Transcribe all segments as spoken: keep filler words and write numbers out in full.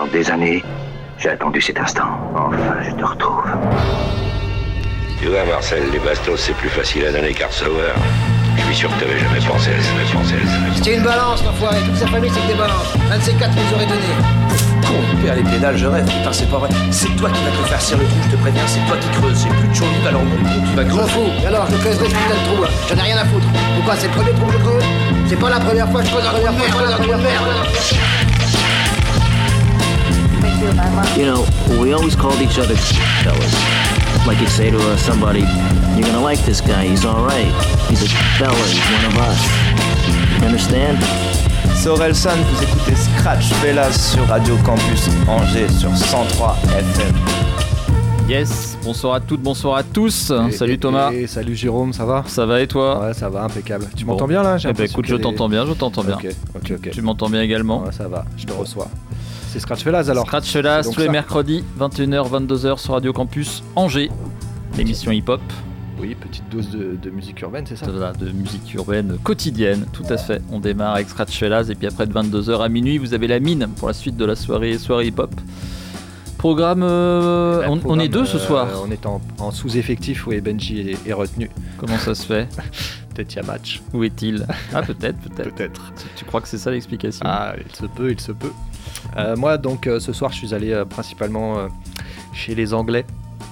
des années, j'ai attendu cet instant. Enfin, je te retrouve. Tu vois, Marcel, les bastos, c'est plus facile à donner qu'à recevoir. Je suis sûr que t'avais jamais pensé à ça, jamais pensé à ça. C'était une balance, l'enfoiré. Toute sa famille, c'est que des balances. Un de ces quatre nous aurait donné. Con, père les pédales, je rêve. Putain, c'est pas vrai. C'est toi qui vas te faire serrer le trou, je te préviens. C'est toi qui creuses. J'ai plus de chaud, alors mon trou, tu vas Je m'en creuser. fous. Et alors, je creuserai ce putain de trou, là. J'en ai rien à foutre. Pourquoi? C'est le premier trou que je creuse? C'est pas la première fois que je creuse un trou de merde, un trou de merde. You know, we always called each other fellas. Like you'd say to uh, somebody, you're gonna like this guy, he's alright. He's a fella, he's one of us. You understand? C'est Orelsan, vous écoutez Scratch Fellas sur Radio Campus Angers sur cent trois F M. Yes, bonsoir à toutes, bonsoir à tous. Et, salut et, Thomas. Et salut Jérôme, ça va? Ça va et toi? Ouais, ça va, impeccable. Tu Bon. m'entends bien là? J'ai Eh ben écoute, je t'entends des... bien, je t'entends bien. Ok, ok, ok. Tu m'entends bien également? Ouais, ça va, je te reçois. C'est Scratch Fellas alors? Scratch Fellas Donc tous les ça. mercredis, vingt et une heures, vingt-deux heures sur Radio Campus Angers. L'émission hip-hop. Oui, petite dose de, de musique urbaine, c'est ça? Voilà, de musique urbaine quotidienne, tout à fait. On démarre avec Scratch Fellas et puis après de vingt-deux heures à minuit, vous avez la mine pour la suite de la soirée, soirée hip-hop. Programme, euh, Là, on, programme, on est deux ce euh, soir. On est en, en sous-effectif, oui, Benji est, est retenu. Comment ça se fait? Peut-être il y a match. Où est-il? Ah peut-être, peut-être. Peut-être. Tu, tu crois que c'est ça l'explication? Ah, il se peut, il se peut. Euh, moi, donc, euh, ce soir, je suis allé euh, principalement euh, chez les Anglais.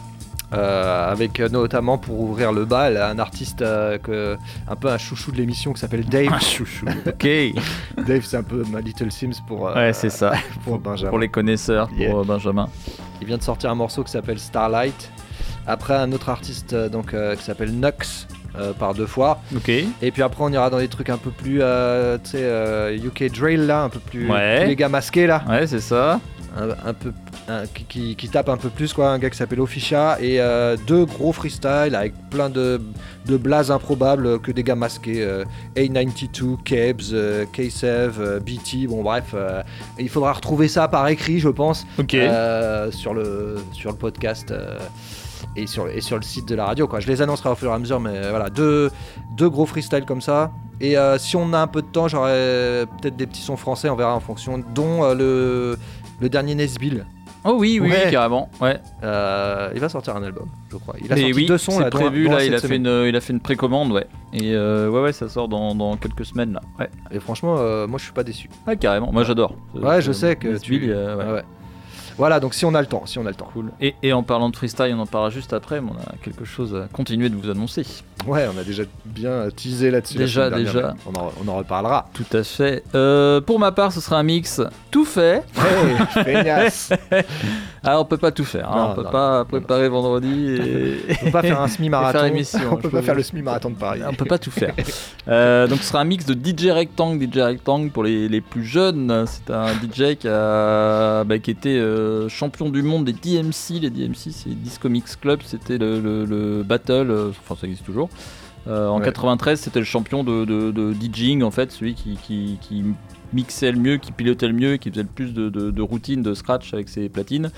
Euh, avec euh, notamment pour ouvrir le bal un artiste euh, que, un peu un chouchou de l'émission qui s'appelle Dave. Un chouchou. Ok. Dave, c'est un peu ma Little Sims pour, euh, Ouais, c'est ça. pour Benjamin. Pour les connaisseurs, pour Yeah. euh, Benjamin. Il vient de sortir un morceau qui s'appelle Starlight. Après, un autre artiste euh, donc, euh, qui s'appelle Nux euh, par deux fois. Ok. Et puis après, on ira dans des trucs un peu plus, euh, tu sais, euh, U K Drill là, un peu plus. Ouais. Tous les gars masqués là. Ouais, c'est ça. Un, un peu un, qui, qui, qui tape un peu plus quoi, un gars qui s'appelle Ofisha et euh, deux gros freestyles avec plein de, de blazes improbables que des gars masqués, euh, A quatre-vingt-douze, Kebs, euh, K-Sev, euh, B T, bon bref, euh, il faudra retrouver ça par écrit je pense, Ok. euh, sur, le, sur le podcast euh, et, sur, et sur le site de la radio quoi. Je les annoncerai au fur et à mesure mais euh, voilà, deux, deux gros freestyles comme ça. Et euh, si on a un peu de temps, j'aurai peut-être des petits sons français, on verra en fonction, dont euh, le, le dernier Nesbill. Oh oui, oui, Ouais. oui, carrément. Ouais. Euh, il va sortir un album, je crois. Il a Mais sorti oui, deux sons c'est là, dont- prévu. dont Là, cette il a fait semaine. une, il a fait une précommande, ouais. Et euh, ouais, ouais, ça sort dans, dans quelques semaines là. Ouais. Et franchement, euh, moi je suis pas déçu. Ouais, carrément. Moi, j'adore. Ouais, je sais que Nesbill, tu. euh, ouais. Ouais, ouais. Voilà, donc si on a le temps, si on a le temps. Cool. Et, et en parlant de freestyle, on en parlera juste après, mais on a quelque chose à continuer de vous annoncer. Ouais, on a déjà bien teasé là-dessus. Déjà, la semaine déjà. dernière, mais On en, on en reparlera. Tout à fait. Euh, pour ma part, ce sera un mix tout fait. Hey, feignasse. Ah, on peut pas tout faire. Hein. Non, on peut non, pas non, préparer vendredi et. On peut pas faire un semi-marathon. Et faire émission, on je peut peux pas faire vous- le semi-marathon de Paris. On peut pas tout faire. Euh, donc ce sera un mix de D J Rectangle. D J Rectangle pour les, les plus jeunes, c'est un D J qui, a, bah, qui était euh, champion du monde des D M C. Les D M C, c'est Disco Mix Club, c'était le, le, le battle, euh, enfin ça existe toujours. Euh, en Ouais. quatre-vingt-treize, c'était le champion de, de, de DJing en fait, celui qui, qui, qui mixait le mieux, qui pilotait le mieux, qui faisait le plus de, de, de routines, de scratch avec ses platines.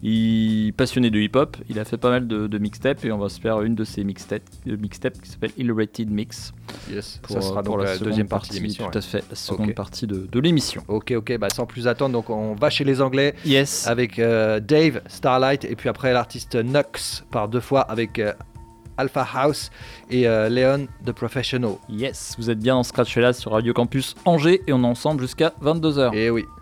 Il passionné de hip-hop, il a fait pas mal de, de mixtapes et on va se faire une de ses mixtapes, de mixtapes qui s'appelle Ill-Rated Mix. Yes, Pour, ça sera pour donc la, seconde deuxième partie de l'émission. Tout à ouais. fait, la seconde Ok. partie de, de l'émission. Ok, ok, bah sans plus attendre, donc on va chez les Anglais Yes. avec euh, Dave, Starlight, et puis après l'artiste Nux par deux fois avec euh, Alpha House et euh, Leon The Professional. Yes, vous êtes bien en Scratch Fellas sur Radio Campus Angers et on est ensemble jusqu'à vingt-deux heures. Et oui.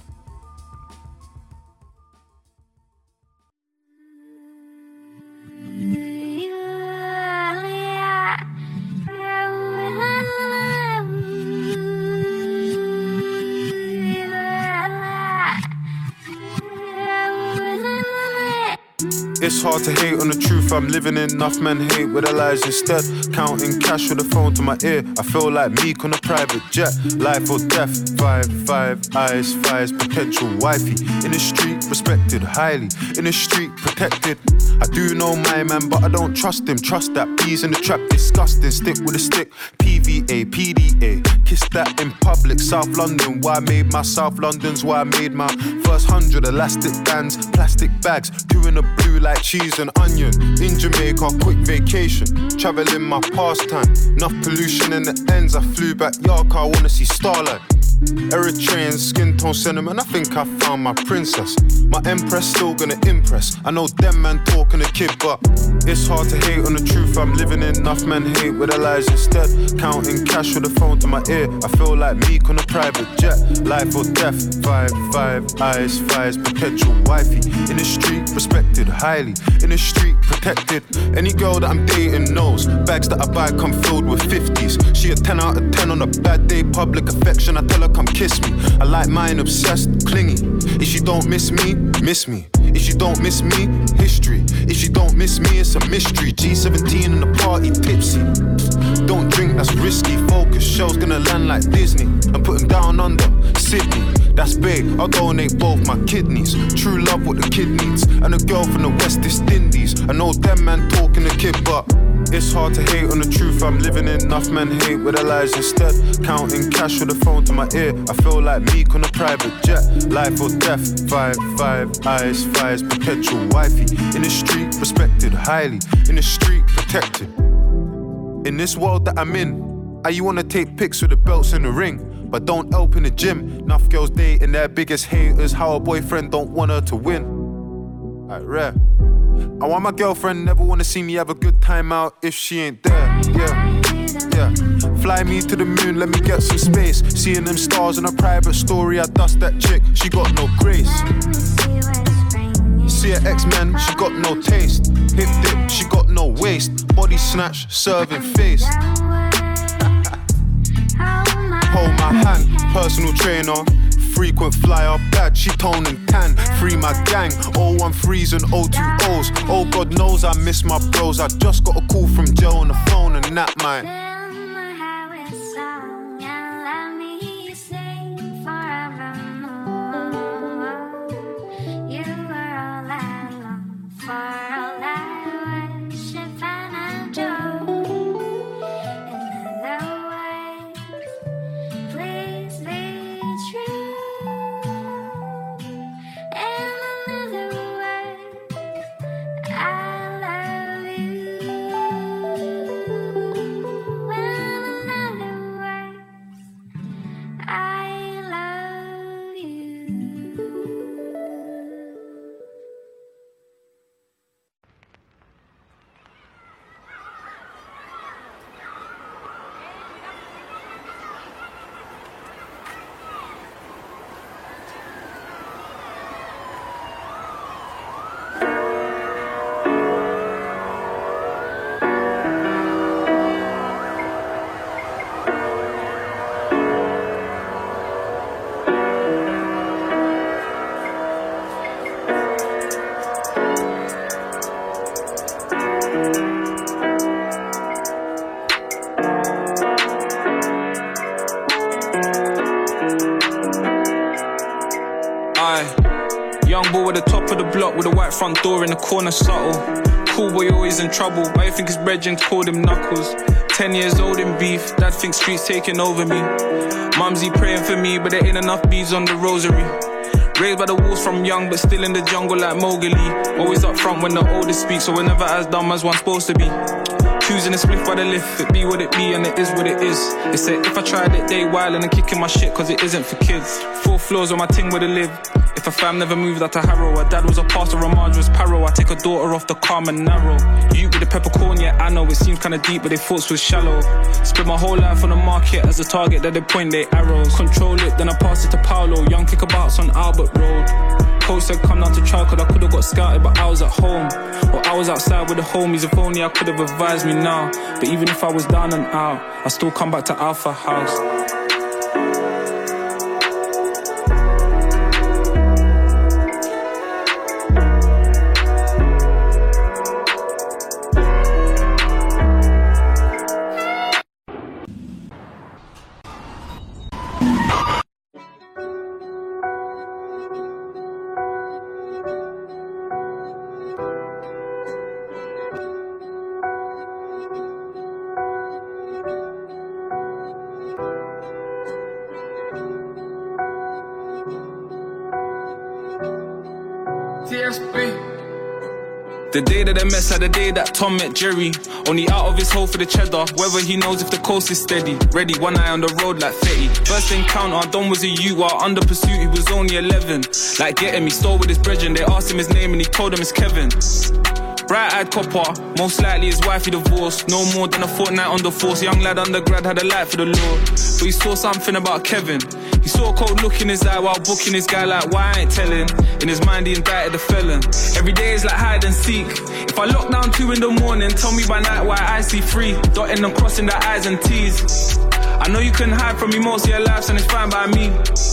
It's hard to hate on the truth I'm living in. Enough men hate with their lies instead. Counting cash with a phone to my ear. I feel like Meek on a private jet. Life or death. Five, five eyes, five's potential wifey. In the street, respected highly. In the street, protected. I do know my man, but I don't trust him. Trust that bees in the trap, disgusting. Stick with a stick. P V A, P D A. Kiss that in public. South London, why I made my South London's why I made my first hundred elastic bands, plastic bags, two in the blue like cheese and onion. In Jamaica, quick vacation, traveling my pastime. Enough pollution in the ends. I flew back yard car, I wanna see starlight. Eritrean skin tone sentiment, I think I found my princess. My empress still gonna impress. I know them man talking a kid, but it's hard to hate on the truth I'm living in. Enough men hate with their lies instead. Counting cash with the phone to my ear. I feel like Meek on a private jet. Life or death, five, five, eyes, fires, perpetual wifey. In the street, respected highly. In the street, protected. Any girl that I'm dating knows. Bags that I buy come filled with fifties. She a ten out of ten on a bad day. Public affection, I tell her come kiss me. I like mine, obsessed, clingy. If you don't miss me, miss me. If you don't miss me, history. If you don't miss me, it's a mystery. G seventeen in the party, tipsy. Don't drink, that's risky. Focus, show's gonna land like Disney. I'm putting down under Sydney. That's big, I'll donate both my kidneys. True love what the kid needs. And a girl from the West Indies. I know them man talking a kid, but it's hard to hate on the truth I'm living in. Enough men hate with their lies instead. Counting cash with the phone to my ear. I feel like Meek on a private jet. Life or death, five, five, eyes, fires, perpetual wifey. In the street, respected highly. In the street, protected. In this world that I'm in, I you wanna take pics with the belts in the ring, but don't help in the gym. Enough girls dating their biggest haters. How a boyfriend don't want her to win. Alright, rare. I want my girlfriend never wanna see me have a good time out if she ain't there, yeah, yeah. Fly me to the moon, let me get some space. Seeing them stars in a private story, I dust that chick, she got no grace. See her X-Men, she got no taste. Hip dip, she got no waist. Body snatch, serving face. Hold my hand, personal trainer. Frequent flyer, bad, she tone and tan. Free my gang, oh one threes and oh two O's. Oh God knows I miss my bros. I just got a call from Joe on the phone and that mine. With a white front door in the corner, subtle. Cool boy always in trouble. Why you think his brethren called him Knuckles? Ten years old in beef, dad thinks streets taking over me. Mumsy praying for me, but there ain't enough beads on the rosary. Raised by the wolves from young, but still in the jungle like Mowgli. Always up front when the oldest speaks, so we're never as dumb as one's supposed to be. Choosing a spliff by the lift, it be what it be and it is what it is. They say if I tried it, they wild and I'm kicking my shit cause it isn't for kids. Four floors on my ting where they live. If a fam never moved out to Harrow, her dad was a pastor, her Marge was Paro. I take a daughter off the calm and narrow. You with the peppercorn, yeah I know it seems kinda deep, but they thoughts was shallow. Spent my whole life on the market as a target that they point their arrows. Control it, then I pass it to Paolo. Young kickabouts on Albert Road. Coach said come down to try, cause I could've got scouted, but I was at home. Or I was outside with the homies, if only I could've advised me now. But even if I was down and out, I still come back to Alpha House. The day that they mess had the day that Tom met Jerry. Only out of his hole for the cheddar. Whether he knows if the coast is steady. Ready, one eye on the road like Fetty. First encounter, Don was a youth while under pursuit he was only eleven. Like getting me, stole with his brethren. They asked him his name and he told them it's Kevin. Bright-eyed copper, most likely his wife he divorced. No more than a fortnight on the force. Young lad undergrad had a light for the Lord. But he saw something about Kevin. He saw a cold look in his eye while booking his guy like, why I ain't telling? In his mind he indicted the felon. Every day is like hide and seek. If I lock down two in the morning, tell me by night why I see three. Dotting and crossing the I's and T's. I know you couldn't hide from me most of your life, and it's fine by me.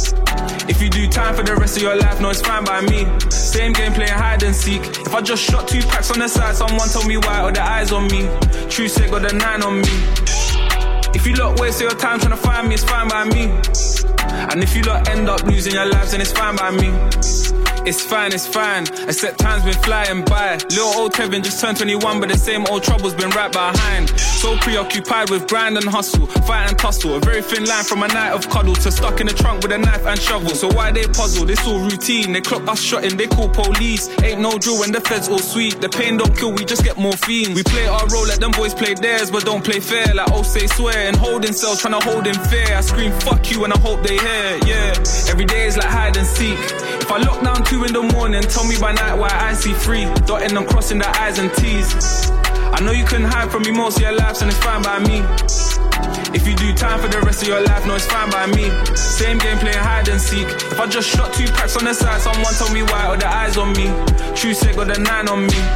If you do time for the rest of your life, no, it's fine by me. Same game playing hide and seek. If I just shot two packs on the side, someone told me why, or the eyes on me. True say got the nine on me. If you lot waste your time trying to find me, it's fine by me. And if you lot end up losing your lives, then it's fine by me. It's fine, it's fine, except time's been flying by. Little old Kevin just turned twenty-one, but the same old trouble's been right behind. So preoccupied with grind and hustle, fight and tussle. A very thin line from a night of cuddle to stuck in the trunk with a knife and shovel. So why they puzzle? It's all routine. They clock us shotting, they call police. Ain't no drill when the feds all sweet. The pain don't kill, we just get morphine. We play our role, let them boys play theirs, but don't play fair. Like oh say swear, and holding cells trying to hold in fear. I scream fuck you and I hope they hear, yeah. Every day is like hide and seek. If I lock down two in the morning, tell me by night why I see three. Dotting and crossing the I's and T's. I know you couldn't hide from me most of your lives, and it's fine by me. If you do time for the rest of your life, no, it's fine by me. Same game playing hide and seek. If I just shot two packs on the side, someone told me why, or the eyes on me. True say got the nine on me.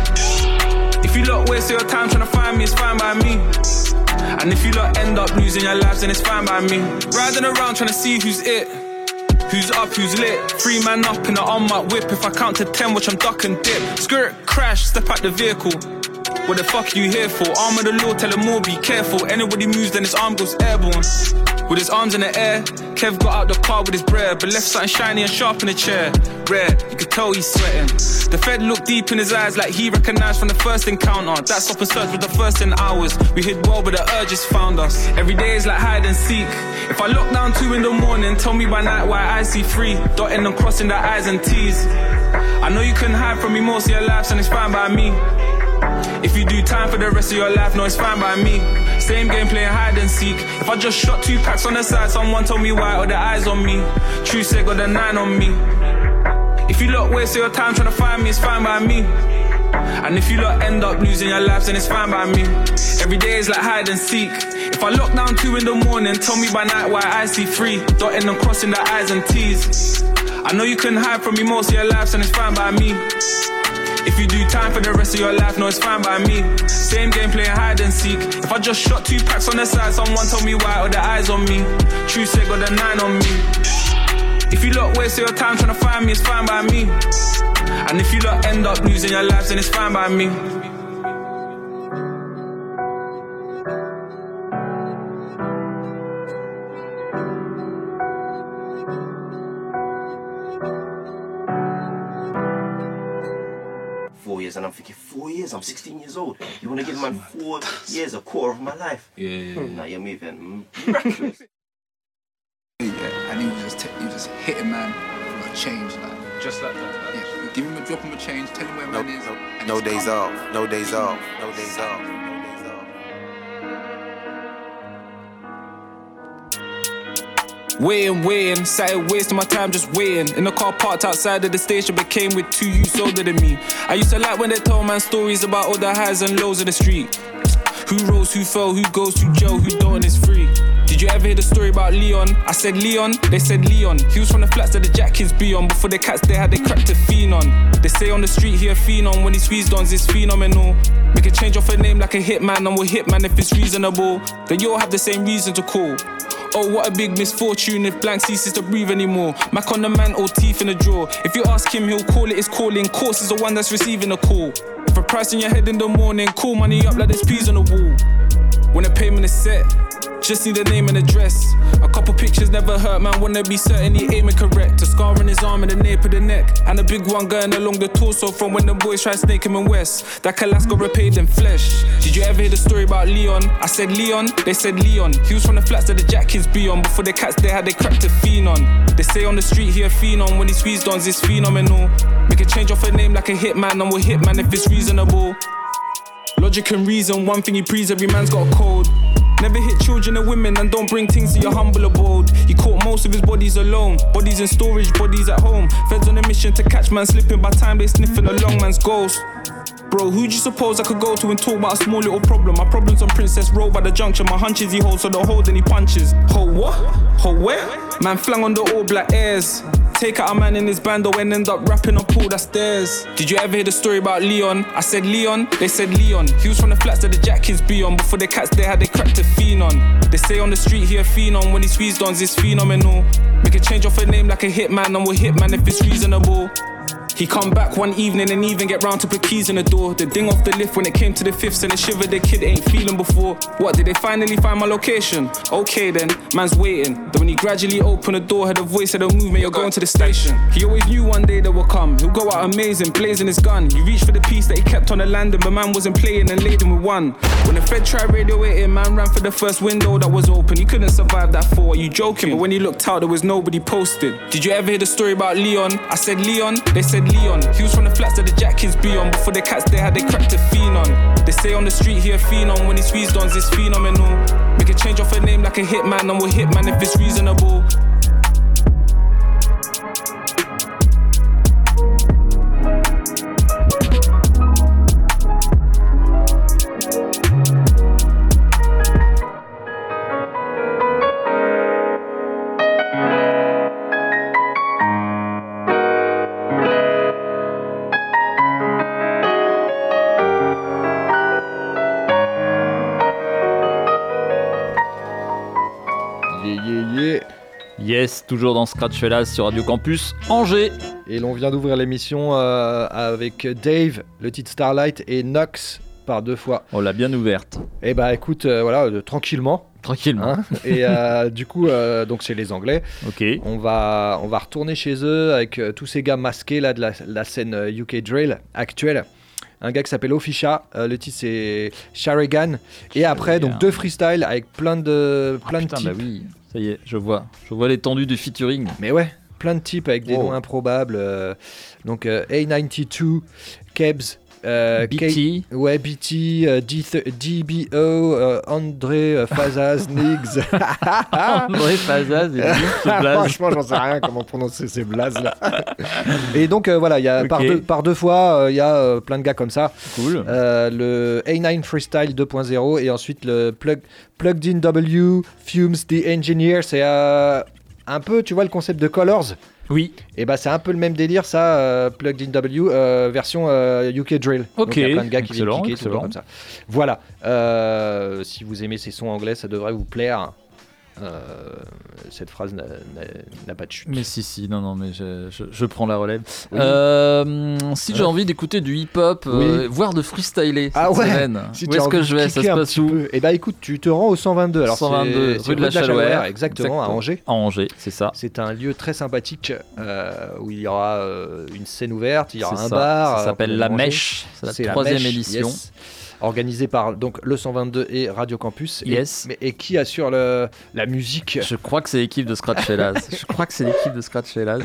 If you lot waste your time trying to find me, it's fine by me. And if you lot end up losing your lives, then it's fine by me. Riding around trying to see who's it. Who's up, who's lit? Three man up in the on-mark whip. If I count to ten, watch I'm duck and dip. Skirt, crash, step out the vehicle. What the fuck are you here for? Arm of the law, tell them all be careful. Anybody moves, then his arm goes airborne. With his arms in the air, Kev got out the car with his bread, but left something shiny and sharp in the chair. Rare, you could tell he's sweating. The Fed looked deep in his eyes like he recognised from the first encounter. That stop and search was the first in hours. We hid well, but the urges found us. Every day is like hide and seek. If I lock down two in the morning, tell me by night why I see three. Dotting and crossing the I's and T's. I know you couldn't hide from me most of your lives, and it's fine by me. If you do time for the rest of your life, no, it's fine by me. Same game playing hide and seek. If I just shot two packs on the side, someone told me why, or the eyes on me. True say got the nine on me. If you lot waste your time trying to find me, it's fine by me. And if you lot end up losing your lives, then it's fine by me. Every day is like hide and seek. If I lock down two in the morning, tell me by night why I see three. Dotting and crossing the I's and T's. I know you couldn't hide from me most of your lives, and it's fine by me. If you do time for the rest of your life, no, it's fine by me. Same game playing hide and seek. If I just shot two packs on the side, someone told me why, or the eyes on me. True say got the nine on me. If you lot waste your time trying to find me, it's fine by me. And if you lot end up losing your lives, then it's fine by me. Four years, and I'm thinking, four years? I'm sixteen years old. You want to give man four years, a quarter of my life? Yeah, yeah, yeah. Now you're moving miraculous. Yeah, and he was just, t- he was just hitting man for a change, like. Just like that. Yeah, give him a drop him a change, tell him where no, man is. No, no days off, no days off, no days off. Waiting, waiting, sat here wasting my time just waiting. In the car parked outside of the station, but came with two youths older than me. I used to like when they told man stories about all the highs and lows of the street. Who rose, who fell, who goes to jail, who don't is free. Did you ever hear the story about Leon? I said Leon, they said Leon. He was from the flats that the jack kids be on. Before the cats they had they cracked a fiend on. They say on the street he a fiend on. When he squeezed on, it's phenomenal. Make a change off a name like a hitman, and we'll hitman if it's reasonable. Then you all have the same reason to call. Oh, what a big misfortune if blank ceases to breathe anymore. Mac on the man or teeth in the drawer. If you ask him, he'll call it his calling. Course is the one that's receiving a call. If a price in your head in the morning, call money up like there's peas on the wall. When the payment is set, just need a name and address. A couple pictures never hurt, man, wanna be certain he aiming correct. A scar on his arm and a nape of the neck, and a big one going along the torso from when the boys tried snake him in West. That Calas got repaid in flesh. Did you ever hear the story about Leon? I said Leon, they said Leon. He was from the flats that the jack kids be on. Before the cats they had they cracked a fiend on. They say on the street he a phenom. When he squeezed on, it's phenomenal. Make a change off a name like a hitman, and we'll hitman if it's reasonable. Logic and reason, one thing he prees, every man's got a code. Never hit children and women, and don't bring things to your humble abode. He caught most of his bodies alone. Bodies in storage, bodies at home. Feds on a mission to catch man slipping. By time they sniffing a long man's ghost. Bro, who'd you suppose I could go to and talk about a small little problem? My problem's on Princess Road by the junction. My hunches he holds, so don't hold any punches. Hold what? Hold where? Man flang on the all black airs. Take out a man in his band and end up rapping up all that stairs. Did you ever hear the story about Leon? I said Leon, they said Leon. He was from the flats that the jack kids be on. Before the cats they had they cracked a fiend on. They say on the street he a phenom. When he squeezed on, it's phenomenal. Make a change off a name like a hitman, and we'll hitman if it's reasonable. He come back one evening and even get round to put keys in the door. The ding off the lift when it came to the fifths and the shiver the kid ain't feeling before. What, did they finally find my location? Okay then, man's waiting. Then when he gradually opened the door, heard a voice said, "Don't move, mate, you're going to the station." He always knew one day they would come. He'll go out amazing, blazing his gun. He reached for the piece that he kept on the landing, but man wasn't playing and laid him with one. When the Fed tried radioing, man ran for the first window that was open. He couldn't survive that fall. Are you joking? But when he looked out, there was nobody posted. Did you ever hear the story about Leon? I said Leon, they said Leon. He was from the flats that the jack kids be on. Before the cats they had they cracked a fiend on. They say on the street he a phenom. When he squeezed on, it's phenomenal. Make a change off a name like a hitman, and we'll hitman if it's reasonable. Yes, toujours dans Scratch Fellas sur Radio Campus Angers. Et l'on vient d'ouvrir l'émission euh, avec Dave, le titre Starlight, et Nox par deux fois. On l'a bien ouverte. Et bah écoute, euh, voilà, euh, tranquillement. Tranquillement. Hein, et euh, du coup, euh, donc c'est les Anglais. Ok. On va, on va retourner chez eux avec euh, tous ces gars masqués là de la, la scène euh, U K Drill actuelle. Un gars qui s'appelle Ofisha, euh, le titre c'est Sharigan. Et après, donc deux freestyles avec plein de, plein oh, de putain, types. Bah oui, ça y est, je vois. Je vois l'étendue du featuring. Mais ouais, plein de types avec des wow. noms improbables. Euh, donc euh, A quatre-vingt-deux, Kebs, euh, B T. K- ouais, B T, euh, D, D B O, euh, André euh, Fazaz, Niggs. André Fazaz, et franchement, j'en sais rien comment prononcer ces blazes là. Et donc euh, voilà, il y a okay. par, deux, par deux fois, il euh, y a euh, plein de gars comme ça. Cool. Euh, le A neuf Freestyle deux point zéro et ensuite le plug, Plugged in W, Fumes the Engineer. C'est euh, un peu, tu vois, le concept de Colors. Oui. Et bah c'est un peu le même délire ça, euh, Plugged in W euh, version euh, U K Drill. Ok. Donc il y a plein de gars qui excellent, viennent kicker tout comme ça. Voilà. Euh, si vous aimez ces sons anglais, ça devrait vous plaire. Euh, cette phrase n'a, n'a, n'a pas de chute. Mais si si non non mais je, je, je prends la relève. Oui. Euh, si j'ai ouais. envie d'écouter du hip hop, oui. euh, voire de freestyler cette ah ouais. semaine. Si où est-ce que je vais? Ça se passe où? Et bah écoute, tu te rends au cent vingt-deux. Alors cent vingt-deux c'est, rue de la Chalouère, exactement, exactement à Angers. À Angers, c'est ça. C'est un lieu très sympathique euh, où il y aura euh, une scène ouverte, il y aura c'est un ça. bar. Ça s'appelle La Mèche. C'est la c'est troisième la mèche, édition. Yes. Organisé par donc le cent vingt-deux et Radio Campus. Yes. Et, mais, et qui assure le, la musique? Je crois que c'est l'équipe de Scratch Fellas. Je crois que c'est l'équipe de Scratch Fellas.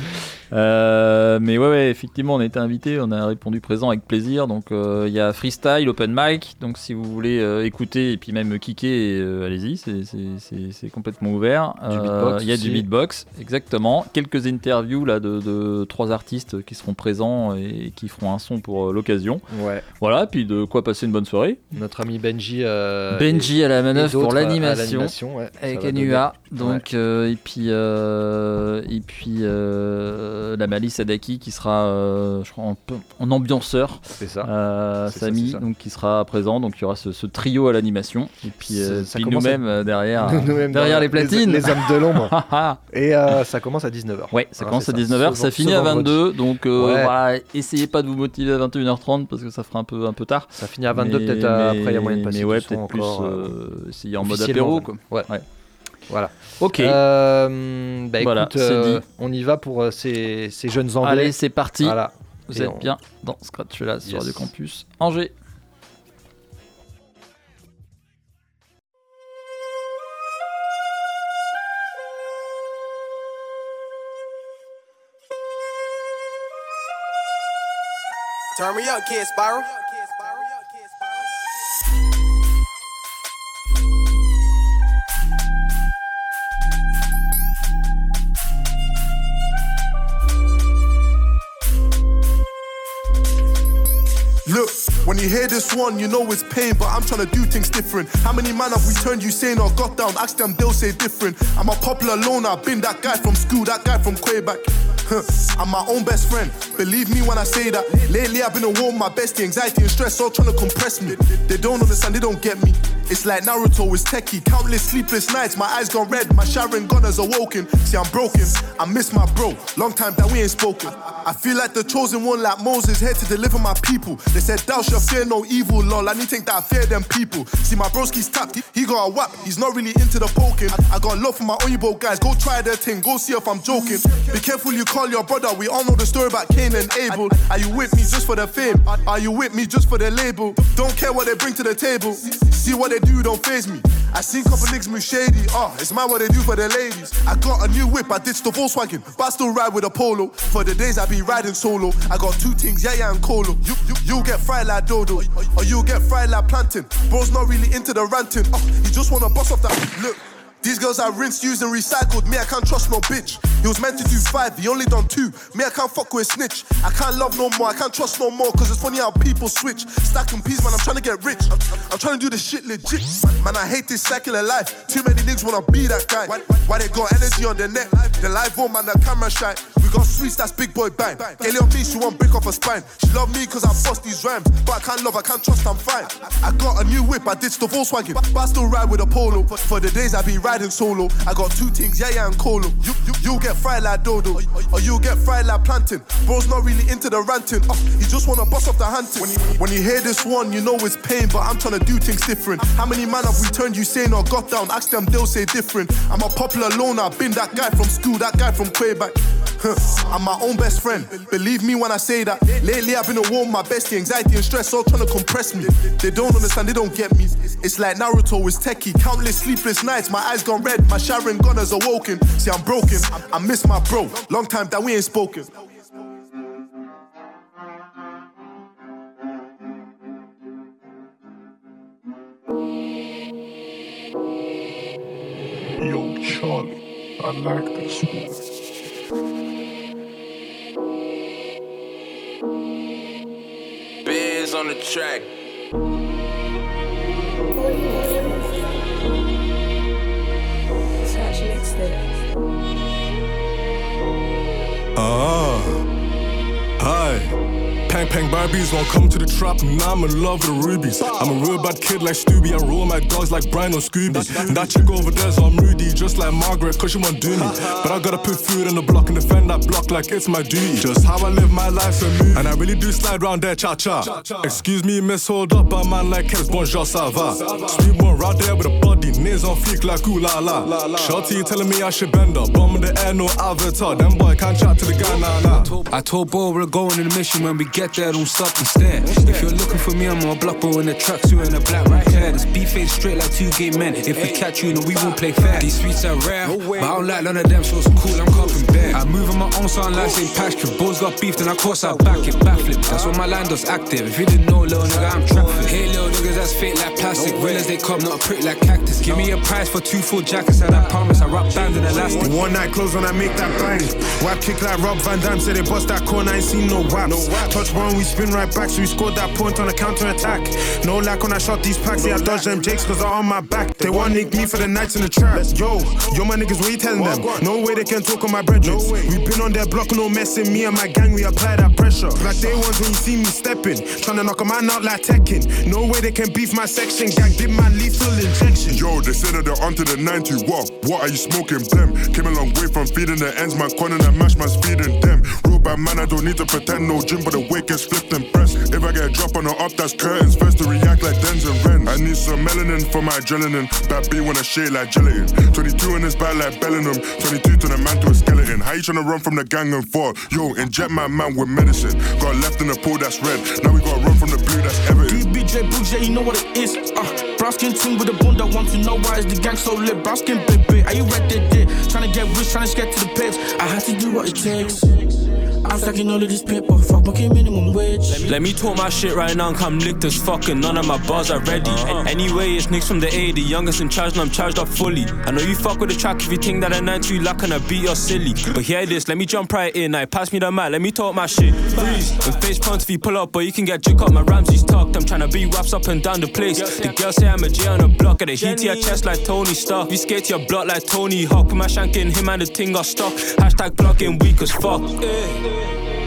Euh, mais ouais, ouais, effectivement, on a été invités, on a répondu présent avec plaisir. Donc il euh, y a freestyle, open mic. Donc si vous voulez euh, écouter et puis même kicker, euh, allez-y, c'est, c'est, c'est, c'est complètement ouvert. Il euh, y a du beatbox, exactement. Quelques interviews là de, de trois artistes qui seront présents et qui feront un son pour euh, l'occasion. Ouais. Voilà, puis de quoi passer une bonne soirée. Notre ami Benji euh, Benji et, à la manœuvre pour l'animation, l'animation ouais, avec Anua donc ouais. euh, et puis euh, et puis euh, euh, la Malice Sadaki qui sera euh, je crois en, en ambianceur. C'est ça. Euh, c'est Samy ça, c'est ça. donc qui sera présent, donc il y aura ce, ce trio à l'animation et puis, euh, Ça puis commence à- nous-mêmes euh, derrière Nous-mêmes derrière dans- les platines. Les, les hommes de l'ombre. Et euh, ça commence à dix-neuf heures. Ouais, ça Hein, commence c'est à dix-neuf heures, Ce- ça ce finit à vendredi. vingt-deux, donc euh, Ouais. voilà, essayez pas de vous motiver à vingt et une heures trente parce que ça fera un peu un peu tard. Ça finit à vingt-deux, Mais- peut-être euh, après il y a moyen de mais passer ouais, du son peut-être plus encore, euh, essayer en mode officiellement, apéro quoi. Ouais. Ouais. Voilà. Ok. Euh, bah Voilà, écoute, c'est euh, dit. on y va pour euh, ces, ces jeunes anglais. Allez, c'est parti. Voilà. Vous Et êtes on- bien dans Scratch là sur Yes. Radio Campus Angers. Turn me up, Kid Spiral. Look, when you hear this one, you know it's pain, but I'm trying to do things different. How many man have we turned you sane or got down? Ask them, they'll say different. I'm a popular loner, been that guy from school, that guy from Quebec. Huh, I'm my own best friend, believe me when I say that. Lately I've been a war with my bestie, anxiety and stress all trying to compress me. They don't understand, they don't get me. It's like Naruto is techie, countless sleepless nights, my eyes gone red, my Sharon Gunners awoken. See I'm broken, I miss my bro, long time that we ain't spoken. I feel like the chosen one like Moses, here to deliver my people. They said thou shalt fear no evil, lol, I need to think that I fear them people. See my broski's tapped, he, he got a whap, he's not really into the poking. I, I got love for my Oyibo guys, go try their thing, go see if I'm joking. Be careful you call your brother, we all know the story about Cain and Abel. Are you with me just for the fame? Are you with me just for the label? Don't care what they bring to the table, see what they do, don't faze me. I seen couple niggas move shady, oh, it's mad what they do for the ladies. I got a new whip, I ditched the Volkswagen, but I still ride with a Polo. For the days I be riding solo, I got two things, yeah, yeah, and Colo. You, you, you get fried like Dodo, or you get fried like plantain. Bro's not really into the ranting, oh, he just wanna bust off that, look. These girls I rinsed, used and recycled, me I can't trust no bitch. He was meant to do five, he only done two, me I can't fuck with a snitch. I can't love no more, I can't trust no more, cause it's funny how people switch. Stacking peas, man, I'm trying to get rich, I'm, I'm trying to do this shit legit. Man, I hate this secular life, too many niggas wanna be that guy. Why, why they got energy on their neck, the live on, man, the camera shy. We got sweets, that's big boy bang. Kelly on me, she won't break off her spine. She love me cause I bust these rhymes, but I can't love, I can't trust, I'm fine. I, I got a new whip, I ditched the Volkswagen, but I still ride with a Polo. For the days I be riding solo, I got two things, yeah, yeah, and Colo. You, you, you get fried like Dodo, or, or you get fried like plantain. Bro's not really into the ranting, oh, he just wanna bust off the hunting. When you, when you hear this one, you know it's pain, but I'm trying to do things different. How many man have we turned you sane or got down? Ask them, they'll say different. I'm a popular loner, been that guy from school, that guy from Quebec. Huh, I'm my own best friend, believe me when I say that. Lately I've been a war with my bestie, anxiety and stress all trying to compress me. They don't understand, they don't get me. It's like Naruto is techie, countless sleepless nights, my eyes gone red, my Sharon Gunners awoken. See I'm broken, I miss my bro, long time that we ain't spoken. Yo, Charlie, I like this one. Biz on the track. Ah, hi. Pang Pang Barbies won't come to the trap, and now I'm in love with the rubies. I'm a real bad kid like Stubby, I roll my dogs like Brian or Scooby. And that chick over there's all moody, just like Margaret, cause she won't do me. But I gotta put food on the block and defend that block like it's my duty. Just how I live my life and move, and I really do slide round there, cha-cha. Excuse me, miss, hold up, but man like Kev's bonjour, ça va. Sweet one right there with a body, nails on fleek like ooh la la. Shorty telling me I should bend up, bomb in the air, no avatar. Them boy can't chat to the guy, nah nah. I told Bo we're going on a mission, when we get there, don't stop and stare. If you're looking for me, I'm on a block, bro, in the tracksuit and a black right hair. This beef ain't straight like two gay men. If we catch you, then we won't play fair. These streets are rare, but I don't like none of them, so it's cool, I'm copping bare. I move on my own sound like Saint Patrick. Bo's got beef, then I course I back it, backflip. That's why my line does active. If you didn't know, little nigga, I'm trapping. Hey, little niggas, that's fake like plastic. Real as they come, not a prick like cactus. Give me a price for two full jackets, and I promise I rock bands and elastic. One night close when I make that bang. Wap kick like Rob Van Dam, say they bust that corner, I ain't seen no waps. Touch one, we spin right back, so we scored that point on a counter attack. No lack when I shot these packs, yeah, I dodged them jakes cause they're on my back. They want nick me for the nights in the trap. Yo, yo my niggas, what you telling them? No way they can talk on my brethren. We been been on their block, no messing. Me and my gang, we apply that pressure. Like day ones when you see me stepping, tryna knock a man out like Tekken. No way they can beef my section. Gang did my lethal injection. Yo, they say that they're onto the ninety. What? What are you smoking? Them came a long way from feeding the ends. Man, corner and mash, man, speeding them. Real bad man, I don't need to pretend. No gym, but the weight gets flipped and pressed. If I get a drop on the up, that's curtains. First to react like Denz and Ren. I need some melanin for my adrenaline. That B wanna shade like gelatin. twenty-two in his back like Bellingham. twenty-two to the man to a skeleton. How you tryna run from the gang and fall? Yo, inject my man with medicine. Got left in the pool that's red. Now we gotta run from the blue that's Everton. B J Boogs, yeah, you know what it is. Uh, brown skin team with a bond. I want to know why is the gang so lit. Brown skin baby, are you ready? Tryna get rich, tryna get to the pips. I had to do what it takes. I'm stacking all of this paper, fuck my minimum wage. Let me talk my shit right now and come licked as fuck, and none of my bars are ready. Uh-huh. Anyway, it's Nicks from the A, the youngest in charge, and I'm charged up fully. I know you fuck with the track if you think that a nine two lack and I beat you're silly. But hear this, let me jump right in, I pass me the mic, let me talk my shit. Freeze, and face punch if you pull up, but you can get jick up, my Ramsey's tucked. I'm tryna be raps up and down the place. The girls say I'm a J on the block, at the heat to your chest like Tony Stark. We skate to your block like Tony Hawk, put my shank in him and the ting got stuck. Hashtag blocking weak as fuck. Yeah.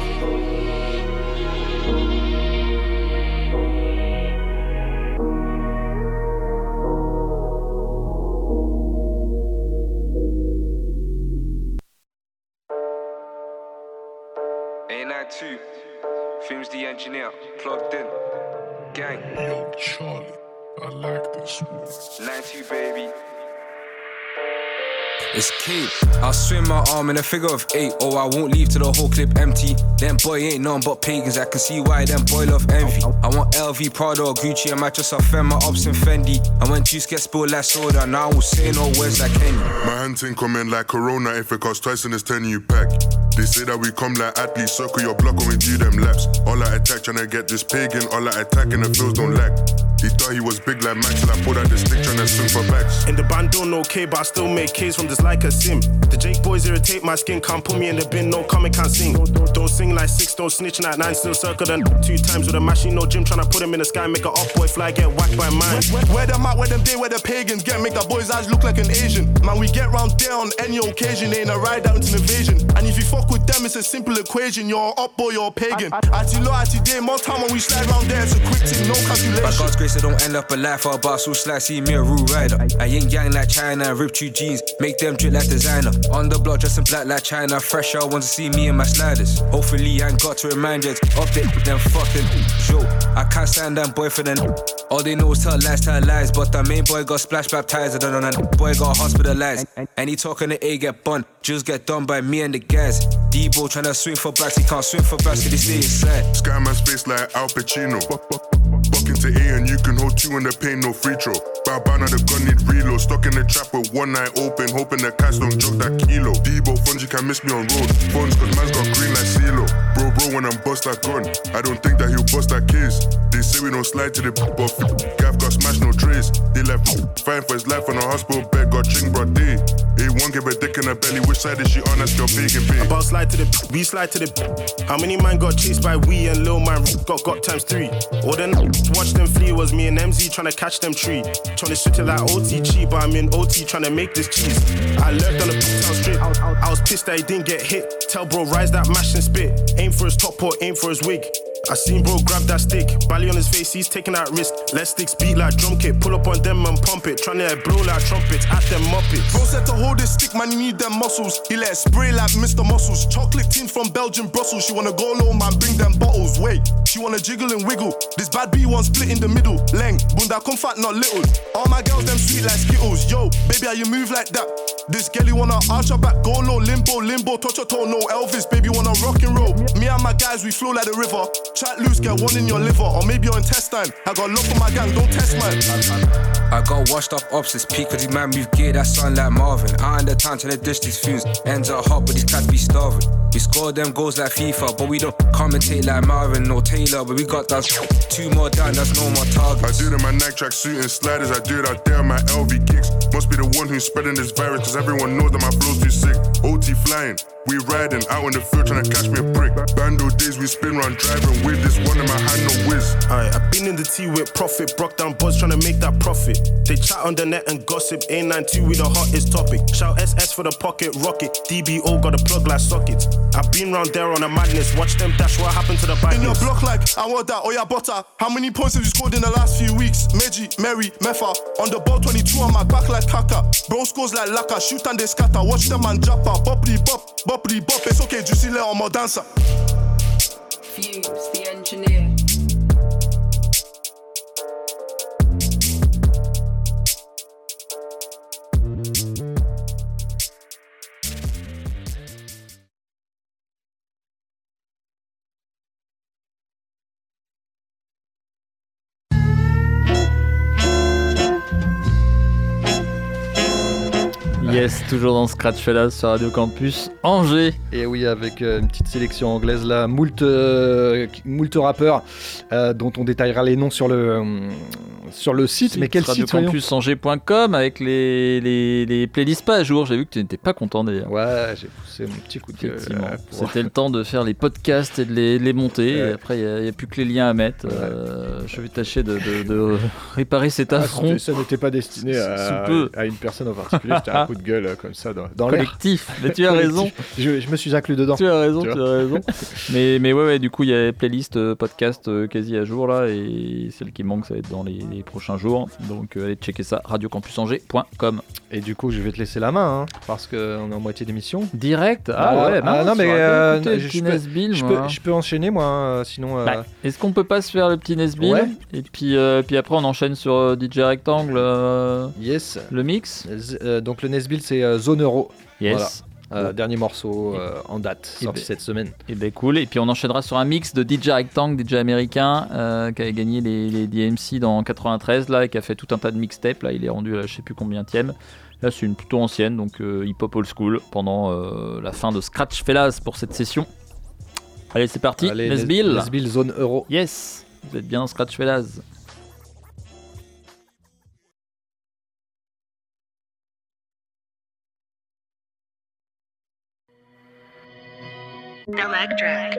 Two, Films the engineer, plugged in, gang. Yo, Charlie, I like this one. nine two, baby. It's Kate. I'll swim my arm in a figure of eight, or I won't leave till the whole clip empty. Them boy ain't none but pagans, I can see why them boy love envy. I want L V, Prada or Gucci, I might just offend my ops and Fendi. And when juice gets spilled like soda, now I will say no words like Kenny. My hand thing comment like Corona, if it costs twice and it's ten you pack. They say that we come like athletes, circle your block when we do them laps. All I attack tryna get this pagan, all I attack and the feels don't lack. He thought he was big like Max, till I pulled out the stick tryna swing for backs. In the band don't know K, but I still make K's from this like a sim. The Jake boys irritate my skin, can't put me in the bin, no comment, can't sing. Don't sing like six, don't snitch like nine, still circle them two times with a machine, no gym, tryna put him in the sky, make a up boy fly, get whacked by mine. Where, where them at, where them day, where the pagans get, make the boys' eyes look like an Asian. Man, we get round there on any occasion, ain't a ride out, it's an invasion. And if you fuck with them, it's a simple equation, you're up boy, you're a pagan. Ati low, ati day, more time when we slide round there, it's a quick thing, no calculation. By God's grace, I don't end up alive for a boss who slice, see me a rude rider. I ain't gang like China, rip two jeans, make them drip like designer. On the block, dressing black like China, fresh out, want to see me and my sliders. Hopefully I ain't got to remind you, update them fucking show. I can't stand them boy for them. All they know is tell lies, tell lies, but the main boy got splash baptized, I don't know that boy got hospitalized. And he talking the A get bun, just get done by me and the guys. D-Bo tryna swing for backs, he can't swing for backs, cause he stay inside. Skyman's face like Al Pacino. Buck into A and you can hold two in the paint, no free throw. Bow bow, now the gun need reload. Stuck in the trap with one eye open, hoping the cats don't joke that kilo. Debo Fungi can miss me on road. Phones cause man's got green like CeeLo. Bro, bro, when I'm bust that gun, I don't think that he'll bust that case. They say we don't slide to the buff. Gav got smashed, no trace. They left fighting for his life on a hospital bed, got ching broad day. A one give a dick in her belly, which side is she on? That's your bacon pay. About slide to the we slide to the how many man got chased by we and Lil Man got got times three. All then watch them flee was me and M Z trying to catch them tree. Trying to shoot it like O T G, but I'm in O T trying to make this cheese. I lurked on the town strip. I was pissed that he didn't get hit. Tell bro, rise that mash and spit. Aim for his top or aim for his wig. I seen bro grab that stick, Bally on his face, he's taking that risk. Let sticks beat like drum kit, pull up on them and pump it. Tryna blow like trumpets, at them muppets. Bro said to hold this stick, man, you need them muscles. He let it spray like Mister Muscles. Chocolate tin from Belgium, Brussels. She wanna go low, man, bring them bottles. Wait, she wanna jiggle and wiggle. This bad B one split in the middle. Leng, bunda come fat, not little. All my girls, them sweet like Skittles. Yo, baby, how you move like that? This girlie wanna arch her back, go low, limbo, limbo, touch her toe, no Elvis, baby wanna rock and roll. Me and my guys, we flow like the river. Chat loose, get one in your liver, or maybe your intestine. I got love for my gang, don't test mine. I got washed up ops, it's peak, cause these man move gear, that sound like Marvin. I in the town to the dish these fumes, ends are hot, but these cats be starving. We score them goals like FIFA, but we don't commentate like Marvin or Taylor, but we got that two more down, that's no more targets. I do it in my Nike track suit and sliders, I do it out there on my L V kicks. Must be the one who's spreading this virus, cause everyone knows that my flow's too sick. O T flying, we riding, out in the field trying to catch me a prick. Bando days, we spin round driving with this one in my hand, no whiz. Aye, I been in the T with profit, broke down buzz trying to make that profit. They chat on the net and gossip, A ninety-two we the hottest topic. Shout S S for the pocket rocket, D B O got a plug like sockets. I've been round there on a madness. Watch them dash, what happened to the badness? In your block like, I want that, oh yeah, butter. How many points have you scored in the last few weeks? Meji, Mary, Mefa. On the ball twenty-two on my back like Kaka. Bro scores like Laka, shoot and they scatter. Watch them and jappa, bopply bop, bopply bop. It's okay, do you see let on my dancer? Fuse, the engineer. Yes, toujours dans Scratch Fellas sur Radio Campus Angers. Et oui, avec euh, une petite sélection anglaise là, moult, euh, moult rappeurs euh, dont on détaillera les noms sur le, euh, sur le site. Mais quel radio site campus angers point com avec les, les, les playlists pas à jour. J'ai vu que tu n'étais pas content d'ailleurs. Ouais, j'ai poussé mon petit coup de gueule. Euh, pour... C'était le temps de faire les podcasts et de les, les monter. Ouais. Et après, il n'y a, a plus que les liens à mettre. Ouais. Euh, je vais tâcher de, de, de réparer cet affront. Ah, ça n'était pas destiné à, à une personne en particulier. C'était un coup de gueule comme ça dans, dans collectif. L'air. Mais tu as raison. Je, je me suis inclus dedans. Tu as raison, tu, tu as raison. mais, mais ouais, ouais, du coup, il y a playlist euh, podcast euh, quasi à jour là, et celle qui manque, ça va être dans les, les prochains jours. Donc euh, allez checker ça, radio campus angers point com. Et du coup, je vais te laisser la main, hein, parce qu'on est en moitié d'émission. Direct. Ah, ah ouais. Ah, non, mais euh, écouter, je, je, peux, Nesbill, je, peux, je peux enchaîner moi. Hein, sinon. Euh... Bah, est-ce qu'on peut pas se faire le petit Nesbill, ouais. Et puis, euh, puis après, on enchaîne sur euh, D J Rectangle. Euh, yes. Le mix. Euh, donc le Nesbill, c'est euh, Zone Euro. Yes. Voilà. Euh, dernier morceau euh, en date, sorti ben, cette semaine. Et ben cool. Et puis on enchaînera sur un mix de D J Rectangle, D J américain, euh, qui avait gagné les, les D M C dans quatre-vingt-treize là, et qui a fait tout un tas de mixtapes. Là, il est rendu à je sais plus combienième. Là, c'est une plutôt ancienne, donc euh, hip-hop old school pendant euh, la fin de Scratch Fellas pour cette session. Allez, c'est parti. Allez, Nesbill. Nesbill Zone Euro. Yes. Vous êtes bien dans Scratch Fellas. Electric.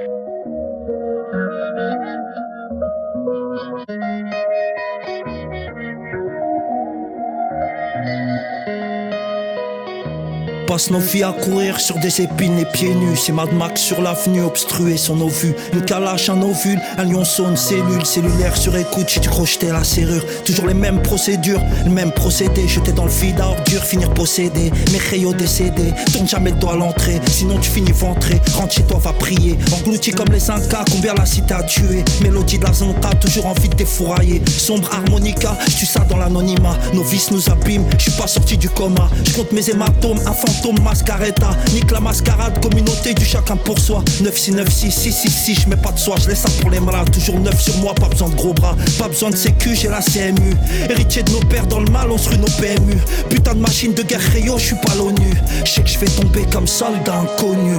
Passe nos vies à courir sur des épines et pieds nus. C'est Mad Max sur l'avenue, obstrué sur nos vues. Une calache, un ovule, un lion sonne, cellule cellulaire sur écoute, j'ai dû crocheter la serrure. Toujours les mêmes procédures, le même procédé. Jeter dans le vide à ordures, finir possédé. Mes rayons décédés, tourne jamais le doigt à l'entrée. Sinon tu finis ventré, rentre chez toi, va prier. Englouti comme les Incas, combien la cité a tué. Mélodie de la zonta, toujours envie de défourailler. Sombre harmonica, tu ça dans l'anonymat. Nos vices nous abîment, je suis pas sorti du coma. Je compte mes hématomes, un fantôme. Mascaretta, nique la mascarade, communauté du chacun pour soi. neuf six neuf six six six six, je mets pas de soie, je laisse ça pour les malades. Toujours neuf sur moi, pas besoin de gros bras, pas besoin de sécu, j'ai la C M U. Héritier de nos pères dans le mal, on se rue nos P M U. Putain de machine de guerre rayon, je suis pas l'ONU. Je sais que je vais tomber comme soldat inconnu.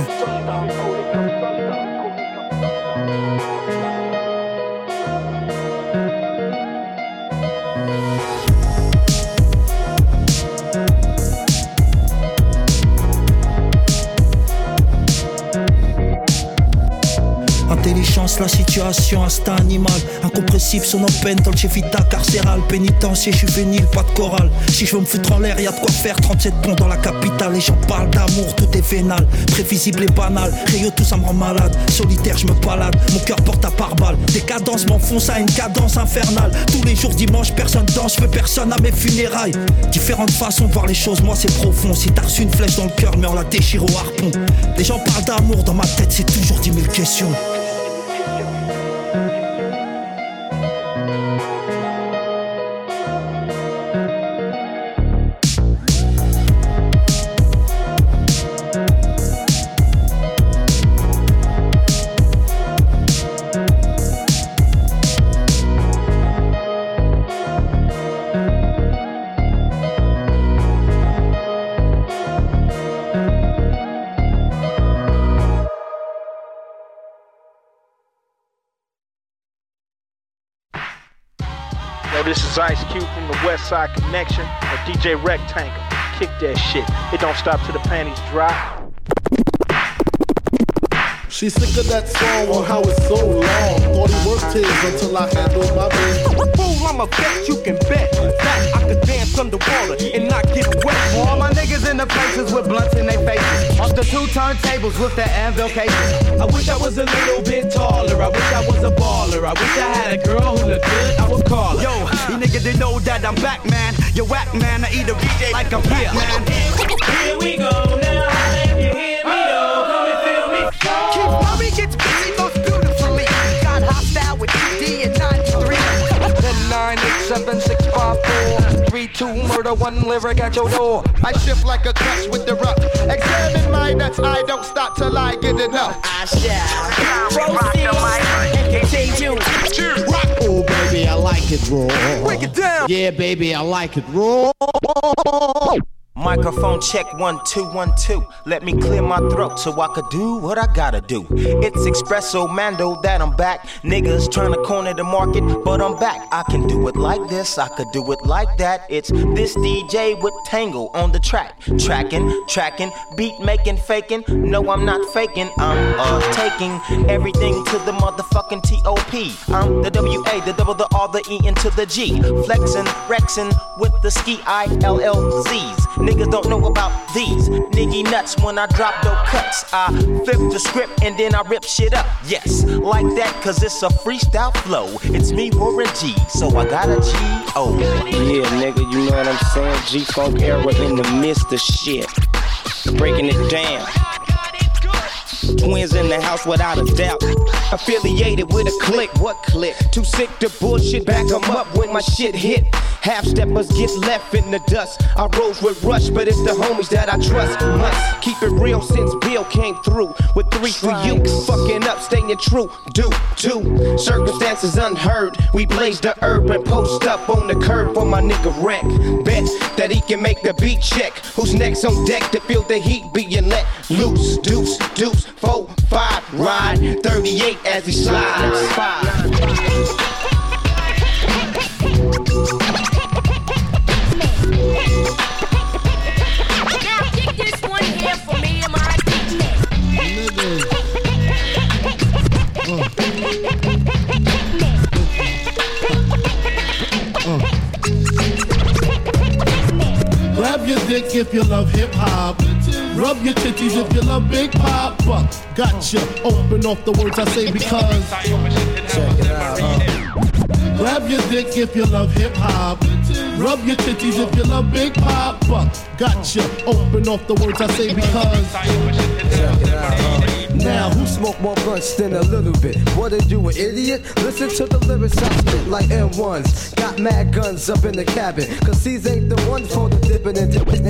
Intelligence, la situation, instinct animal. Incompressible, son open, dolce vita, carcéral. Pénitencier, juvénile, pas de chorale. Si je veux me foutre en l'air, y'a de quoi faire. trente-sept bons dans la capitale. Les gens parlent d'amour, tout est vénal. Prévisible et banal. Rayo, tout ça me rend malade. Solitaire, je me balade. Mon cœur porte à pare-balles. Décadence m'enfonce à une cadence infernale. Tous les jours dimanche, personne danse. Je veux personne à mes funérailles. Différentes façons de voir les choses, moi c'est profond. Si t'as reçu une flèche dans le cœur, mais on la déchire au harpon. Les gens parlent d'amour, dans ma tête c'est toujours dix mille questions. This is Ice Cube from the West Side Connection, or D J Rectangle. Kick that shit. It don't stop till the panties drop. She's sick of that song on how it's so long. Thought he worked his until I handled my business. Fool, I'm a bet you can bet that I could dance underwater and not get wet. For all my niggas in the places with blunts in their faces. Off the two turntables with the anvil cases. I wish I was a little bit taller. I wish I was a baller. I wish I had a girl who looked good. I would call her. Yo, you niggas didn't know that I'm back, man. You whack, man. I eat a D J like I'm back, man. Here we go now. If you hear me, though, come and feel me. Keith Murray gets busy most beautifully. Got hostile with T D and nine three. Then nine eight seven six five four three two murder one lyric at your door. I shift like a clutch with the rough. Examine my nuts. I don't stop till I get enough. I shall proceed and continue. Rock, oh baby, I like it raw. Break it down. Yeah, baby, I like it raw. Microphone check one two one two. Let me clear my throat so I could do what I gotta do. It's Espresso Mando that I'm back. Niggas trying to corner the market, but I'm back. I can do it like this, I could do it like that. It's this D J with Tango on the track. Tracking, tracking, beat making, faking. No, I'm not faking. I'm uh taking everything to the motherfucking T O P. I'm the W A, the double, the R, the E into the G. Flexing, rexing with the ski I L L Z's. Niggas don't know about these niggy nuts. When I drop no cuts, I flip the script and then I rip shit up. Yes, like that, cause it's a freestyle flow. It's me, Warren G, so I got a G O. Yeah, nigga, you know what I'm saying? G-Funk era in the midst of shit. Breaking it down. Twins in the house without a doubt. Affiliated with a clique. What clique? Too sick to bullshit. Back 'em up when my shit hit. Half steppers get left in the dust. I rose with Rush, but it's the homies that I trust. Must keep it real since Bill came through with three for you. Fucking up, staying true. Do, do. Circumstances unheard. We blaze the herb and post up on the curb for my nigga Wreck. Bet that he can make the beat check. Who's next on deck to feel the heat being let loose? Deuce, deuce, four, five, ride. thirty-eight as he slides. Now kick this one here for me and my Grab your dick if you love hip hop. Rub your titties if you love Big Papa. Gotcha. Open off the words I say because. Check it out. Uh. Grab your dick if you love hip hop. Rub your titties if you love Big Papa. Gotcha. Open off the words I say because. Check it out. Uh. Now, who smoke more blunts than a little bit? What are you, an idiot? Listen to the lyrics I spit like M ones. Got mad guns up in the cabin, cause these ain't the ones for the dipping and dipping.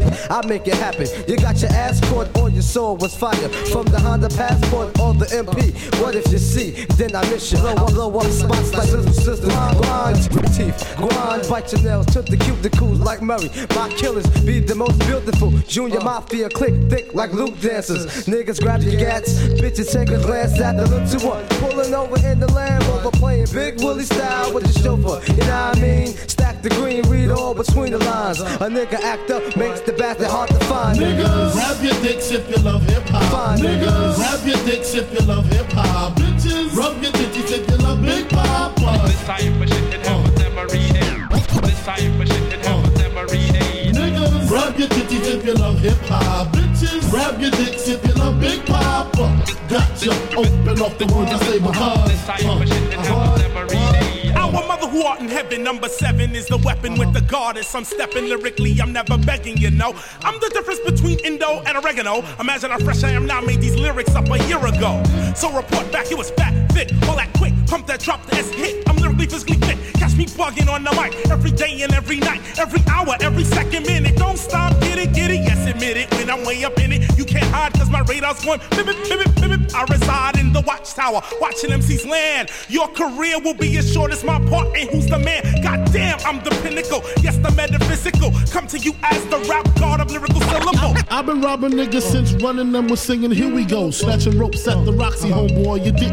I make it happen. You got your ass caught or your soul was fire. From the Honda Passport or the M P. What if you see, then I miss you. Blow, blow up spots like little sisters. Grind teeth, grind, bite your nails. Took the cuticles like Murray. My killers be the most beautiful. Junior Mafia click thick like Luke dancers. Niggas grab your gats. Bitches take a glance at the little one. Pulling over in the Land Rover, playing Big Willie style with the chauffeur. You know what I mean? Stack the green, read all between the lines. A nigga act up makes the bastard hard to find. Niggas, grab your dicks if you love hip hop. Niggas, grab your dicks if you love hip hop. Bitches, rub your titties if you love Big Papa. This time for shit that have never read it. This time for shit that have never read it. Niggas, grab your titties if you love hip hop. Bitches, grab your dicks if you love Big Papa. Gotcha. Open off the words I say because. This time for shit that have never read it. Our mother who art in heaven, number seven is the weapon with the goddess. I'm stepping lyrically, I'm never begging, you know. I'm the difference between Indo and oregano. Imagine how fresh I am now, made these lyrics up a year ago. So report back, it was fat, fit, all that quick. Pump that, drop the S hit. I'm lyrically physically fit. Catch me bugging on the mic every day and every night, every hour, every second minute. Don't stop, get it, get it, yes, admit it. When I'm way up in it, you can't hide cause my radar's going bip, bip, bip, bip, bip. I reside in the watchtower, watching M Cs land. Your career will be as short as my part, and who's the man? Goddamn, I'm the pinnacle, yes, the metaphysical. Come to you as the rap god of lyrical syllable. I've been robbing niggas since running them was singing, here we go. Snatching ropes at the Roxy, homeboy, you didn't know my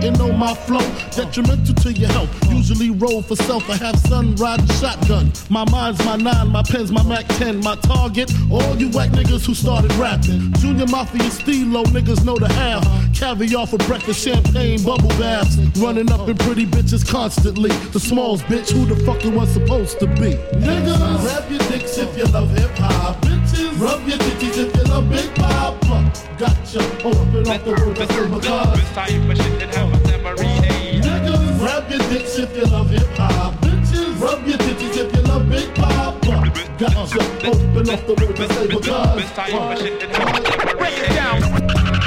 my flow, detrimental to your health. Usually roll for self, I have sun riding shotgun. My mind's my nine, my pen's my Mac ten. My target, all you white niggas who started rapping. Junior Mafia Stilo, niggas know the half. Caviar for breakfast, champagne, bubble baths. Running up in pretty bitches constantly. The smalls, bitch, who the fuck it was supposed to be? Niggas, grab your dicks if you love hip hop. Bitches, rub your titties if you love Big Papa. Gotcha, open up the road, that's because. Niggas, grab your dicks if you love hip hop. Bitches, rub your titties if you love Big Papa. Gotcha, open up the road, that's because. Break it down.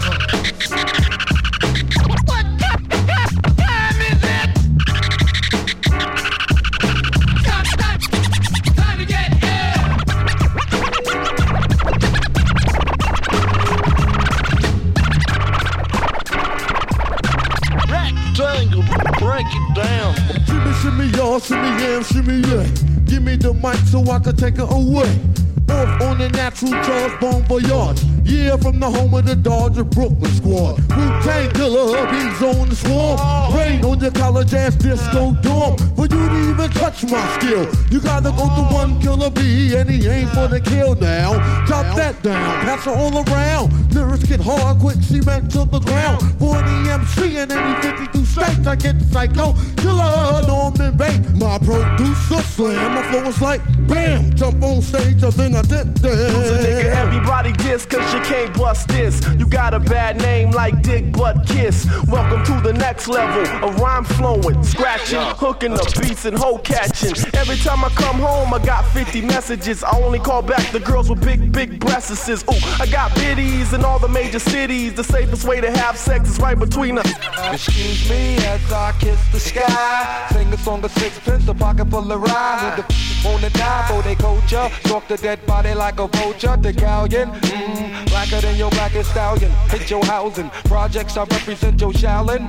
Break it down. Shimmy, shimmy, y'all, shimmy, yeah, shimmy, yeah. Give me the mic so I can take it away. Off on the natural Charles Bon Voyage. Yeah, from the home of the Dodger Brooklyn squad. Wu-Tang Killer, hubby's on the swarm. Rain on your college ass disco dorm. For you to even touch my skill, you gotta go to one killer B, and he ain't for the kill now. Drop that down, pass it all around. Lyrics get hard, quick cement to the ground. For the M C and any fifty-two states, I get the psycho killer, Norman Bates. My producer slam, my flow is like bam. Jump on stage, I think I did this. Nigga, everybody diss, cause you can't bust this. You got a bad name like Dick Butt Kiss. Welcome to the next level of rhyme flowing, scratching, hooking up beats and hoe catching. Every time I come home, I got fifty messages. I only call back the girls with big, big breasts. Ooh, I got biddies in all the major cities. The safest way to have sex is right between us. Excuse me as I kiss the sky. Sing a song of sixpence, a pocket full of rhyme. With the on the die for they culture. Talk the dead body like a vulture. The galleon, mmm, blacker than your blackest stallion. Hit your housing, projects I represent your shallin'.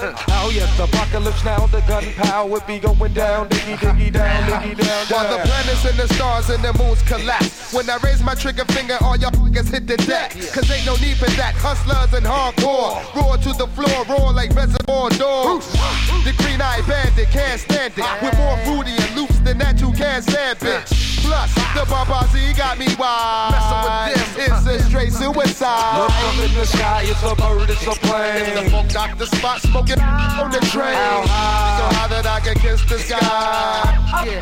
Oh yes, apocalypse now, the gunpowder be going down, diggy diggy down, diggy down, down. While the planets and the stars and the moons collapse. When I raise my trigger finger, all y'all niggas hit the deck. Cause ain't no need for that. Hustlers and hardcore, roar to the floor, roar like reservoir dogs. The green-eyed bandit can't stand it. With more fruity and loops than that you can't stand, bitch. Plus, the Babazi got me wild. Messing with this, it's a straight suicide. Look up in the sky, it's a bird, it's a plane. It's the funk doctor spot smoking on the train. How high? So high that I can kiss the sky. Yeah.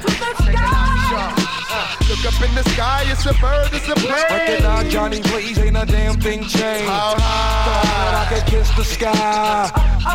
Look up in the sky, it's a bird, it's a plane. Working out Johnny, please, ain't a damn thing changed. How high? So high that I can kiss the sky.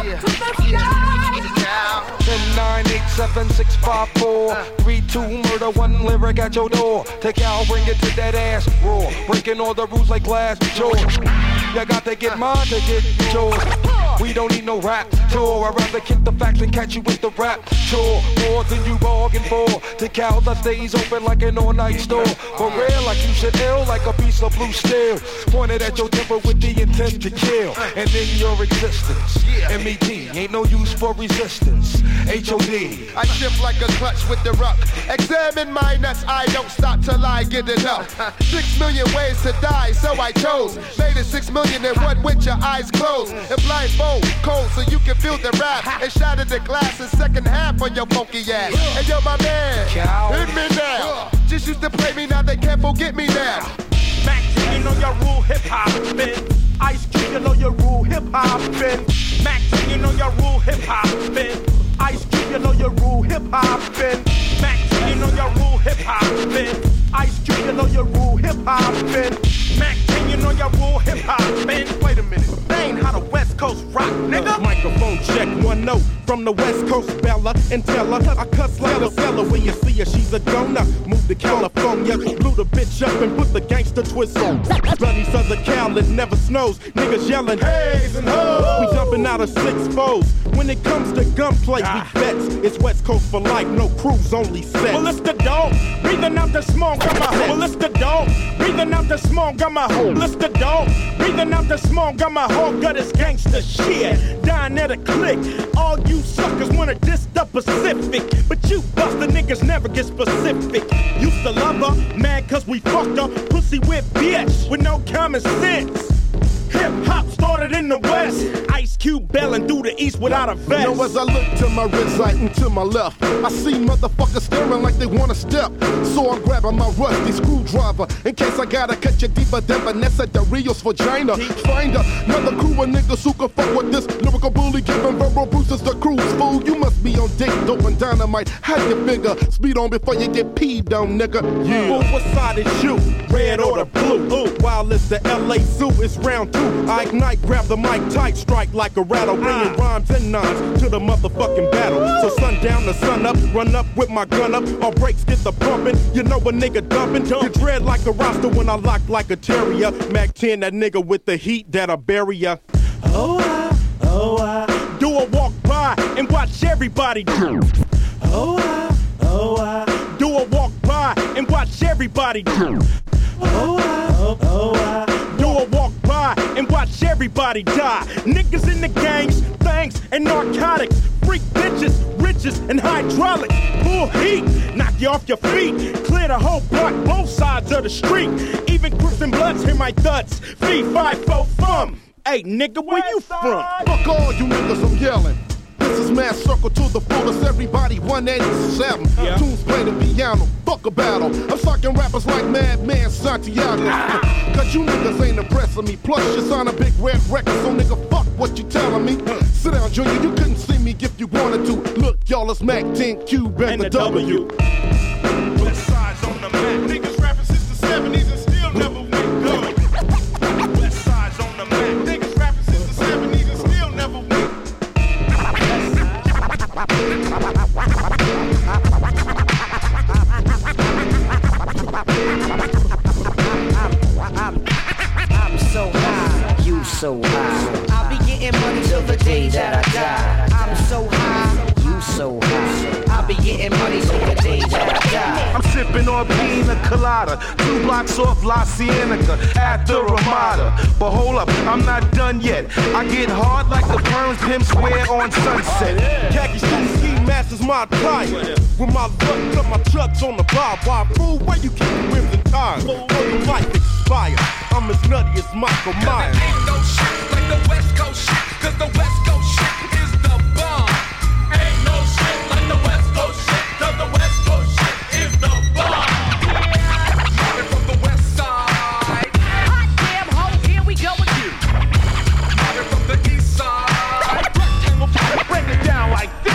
ten, nine, eight, seven, six, five, four, three, two, murder, one lyric at your door. Take out, bring it to that ass roar. Breaking all the rules like glass jaws. You got to get mine to get yours. We don't need no rap tour. I'd rather kick the facts and catch you with the rap chore. More than you bargained for. The cows that stays open like an all-night store. For real, like you should ill, like a piece of blue steel. Pointed at your temper with the intent to kill. And in your existence, M E T ain't no use for resistance. H O D. I shift like a clutch with the ruck. Examine my nuts, I don't stop till I get enough. Six million ways to die, so I chose. Made it six million in one with your eyes closed. And blindfold, cold, so you can feel the rap. And shatter the glass in second half on your funky ass. And yo, my man, hit me now. Just used to play me, now they can't forget me now. Mac, you know your rule hip hop spin. Ice Cube, you know your rule hip hop spin. Mac, you know your rule hip hop spin. Ice Cube, you know your rule hip hop spin. Mac, you know your rule hip hop spin. Ice Cube, you know your rule hip hop spin. Mac, you know your rule hip hop spin. Wait a minute, that ain't how the West Coast rock, nigga. Microphone check, one note from the West Coast, Bella and tell her I cuss like a fella when you see her, she's a donut. Move to California, blew the bitch up and put the gangster twist on. Bloody Southern Cal, it never snows. Niggas yelling, haze and hoes. We jumping out of six foes. When it comes to gunplay, we bets. It's West Coast for life, no cruise, only set. Well, it's the dog, breathing out the smoke, got my hoe. Well, it's the dog, breathing out the smoke, got my hoe. Well, it's the dog, breathing out the smoke, got my whole gut is gangster shit. Dying at a click. All you suckers wanna diss the Pacific, but you buster niggas never get specific. Used to love her, mad cause we fucked her. Pussy with bitch with no common sense. Hip hop started in the West. Ice Cube bailing through the East without a vest. Now as I look to my wrist right and to my left, I see motherfuckers staring like they wanna step. So I'm grabbing my rusty screwdriver in case I gotta cut you deeper than Vanessa de Rio's vagina. Find another crew of niggas who can fuck with this lyrical bully, giving verbal bruises the cruise. Fool, you must be on dick, dope and dynamite. How you figure? Speed on before you get peed on, nigga. Yeah. Well, what side is you? Red or the blue? Ooh. While it's the L A Zoo, it's round two. I ignite, grab the mic tight, strike like a rattle, bringing rhymes and nines to the motherfucking battle. So sundown to sun up, run up with my gun up. All brakes get the pumping. You know a nigga dumping. You dread like a roster when I lock like a terrier. Mac ten, that nigga with the heat that'll bury ya. Oh, I, oh, I do a walk by and watch everybody do. Oh, I, oh, I do a walk by and watch everybody do. Oh, I, oh, oh, I do a walk by and watch everybody die. Niggas in the gangs, things, and narcotics. Freak bitches, riches, and hydraulics. Full heat, knock you off your feet. Clear the whole block, both sides of the street. Even Crips and Bloods hear my thuds. Fee, five, four, fum. Hey, nigga, where you from? Fuck all you niggas, I'm yelling. This is Mass Circle to the fullest, everybody one eighty-seven. Yeah. Tunes play the piano, fuck a battle. I'm sucking rappers like Madman Santiago. Ah. Cause you niggas ain't impressing me. Plus you sign a big red record, so nigga fuck what you telling me. Uh. Sit down, Junior, you couldn't see me if you wanted to. Look, y'all, it's Mac ten Cube and, and the, the W. w. West side's on the map. Niggas rapping since the seventies and still never went good. West side's on the map. Niggas rapping since the seventies and still never went good. I'm so high, you so high. I'll be getting money till the day that I die. I'm so high, you so high. I'll be getting money till the day that I die. I'm sipping on pina colada, two blocks off La Cienega at the Ramada. But hold up, I'm not done yet. I get hard like the Burns Pimp Square on Sunset. Khaki suit ski masters my tire. With my luck, cut my trucks on the bar. Why, fool, where you keep the rims and tires? Oh, your life expired. I'm as nutty as Michael Myers. Ain't no shit like the West Coast shit, cause the West Coast shit is the bomb. Ain't no shit like the West Coast shit, cause the West Coast shit is the bomb. Coming from the West Side. Hot damn ho, here we go again. Coming from the East Side. Break it down like this.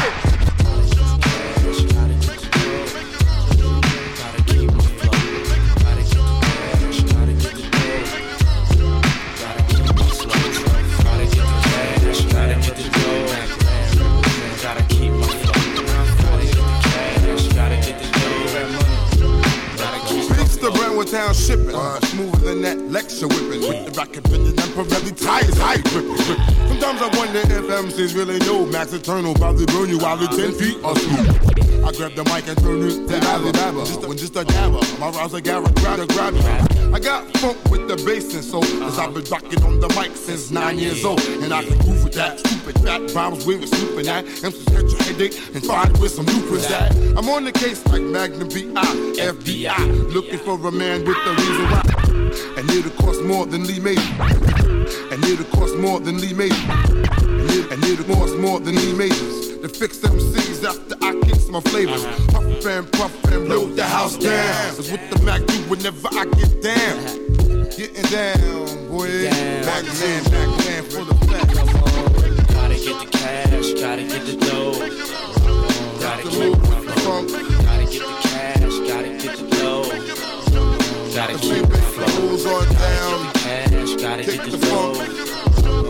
Town shipping, uh, smoother than that lecture whipping. With the rocket bending and Pirelli tires, high gripping. Sometimes I wonder if M Cs really know Max Eternal probably burn you while the ten feet are smooth. I grab the mic and turn it to Alibaba. Just a, when just a dabber, my rhymes are Garrett, grab to grab you. I got funk with the bass and soul, cause I've been rocking on the mic since nine years old. And I can groove with that stupid fat rhymes we were snooping at. M Cs catch your headache and find with some loopers at. I'm on the case like Magnum B I, F B I, looking for a man with the reason why. And it'll cost more than Lee made. And it'll cost more than Lee made. And it'll cost more than Lee made. To fix them C's after I kicks my flavors. Puff and puff and load the house down. Cause with the Mac do whenever I get down. Getting down, boy. Back man, back man for the fact. Gotta get the cash, gotta get the dough. Gotta keep my funk. Gotta get the cash, gotta get the dough. Gotta keep my flow. Gotta get the cash, gotta get the dough.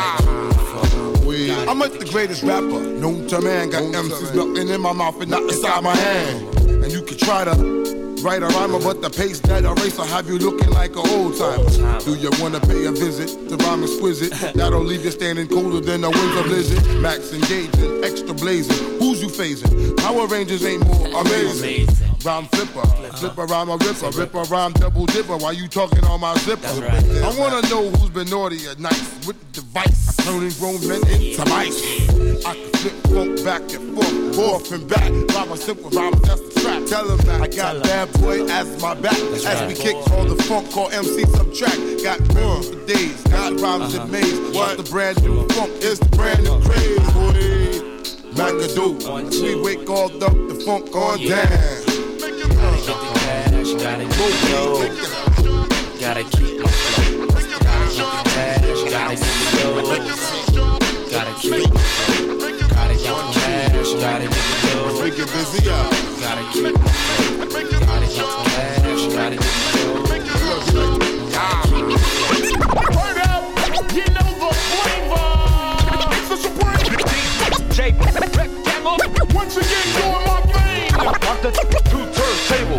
I'm like the greatest rapper known to man. Got M Cs nothing in my mouth and not inside my hand. And you can try to write a rhymer, but the pace that I race will have you looking like an old timer. Do you wanna pay a visit to rhyme exquisite? That'll leave you standing colder than a winter blizzard. Max engaging, extra blazing. Who's you phasing? Power Rangers ain't more amazing. Rhyme flipper, flipper rhyme a ripper, ripper rhyme double dipper. Why you talking on my zipper? Right. I wanna know who's been naughty or nice with the device, turning grown men into mice. I can flip funk back and forth, forth and back. Rhyme my simple rhymes, that's the trap. Tell them that I got Bad Boy as my back. That's as right. we kick all the funk, call M C Subtract. Got rhymes for days, got rhymes in maze. What's the brand new funk? It's the brand new craze, boy. McAdoo, we wake all up, the funk on down. Gotta get the cash, gotta get the dough. Gotta keep my flow. Gotta get the cash, gotta get the dough. Gotta keep my flow. Gotta get the cash, gotta get the dough. We get busy up. Gotta keep my flow. Gotta get the cash, gotta get the dough. Gotta keep my flow. Word up, you know the flavor. It's the Supreme. J Rectangle. Once again, doing my thing. On the two turntable.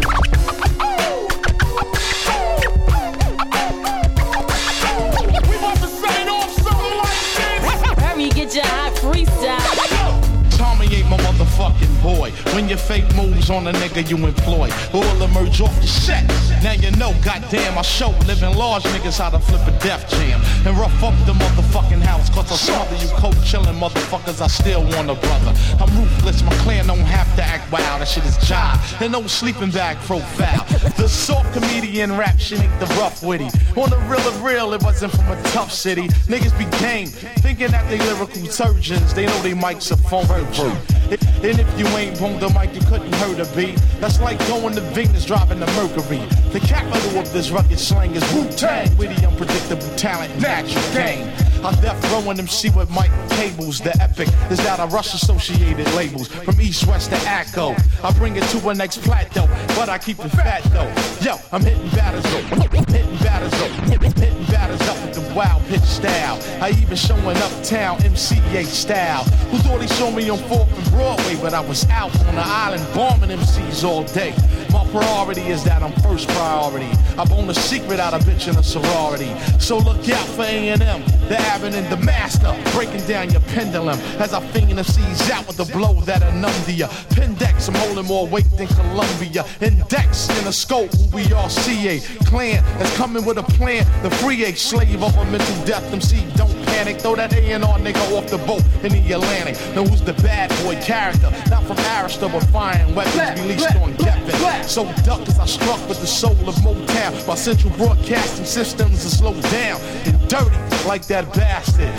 We about to sign off something like this. Hurry, get your hot freestyle. Tommy ain't my motherfucking boy. When your fake moves on a nigga you employ, all emerge off the set. Now you know, goddamn, I show living large niggas how to flip a Def Jam and rough up the motherfucking house. Cause I smother you cold chillin' motherfuckers, I still want a brother. I'm ruthless, my clan don't have to act wild. That shit is jive, and no sleeping bag profile. The soft comedian rap shit ain't the rough witty. On the real of real, it wasn't from a tough city. Niggas be game, thinking that they lyrical surgeons. They know they mics are phone virgin. And if you ain't bonged the mic, you couldn't hurt a beat. That's like going to Venus, driving the Mercury. The capital of this rugged slang is Wu-Tang. Witty, unpredictable talent, natural game. I'm death rowing them see with Mike Cables. The epic is that I rush associated labels from east, west to Acco. I bring it to a next plateau, but I keep it fat though. Yo, I'm hitting batters up, hitting batters up, hitting batters up with the wild pitch style. I even showing uptown M C A style. Who thought he saw me on fourth and Broadway, but I was out on the island bombing M Cs all day. My priority is that I'm first priority. I bone a secret out of bitch in a sorority. So look out for A and M, the Abbott and the Master, breaking down your pendulum as I finger the C's out with a blow that'll numb to ya. Pendex, I'm holding more weight than Columbia. Index in a scope, who we are C A. Clan that's coming with a plan. The free A slave of a mental death. M C don't panic, throw that A and R nigga off the boat in the Atlantic. Now who's the bad boy character? Not from Arista, but firing weapons released on Geffen. So duck as I struck with the soul of Motown. My central broadcasting systems are slowed down and dirty like that bastard.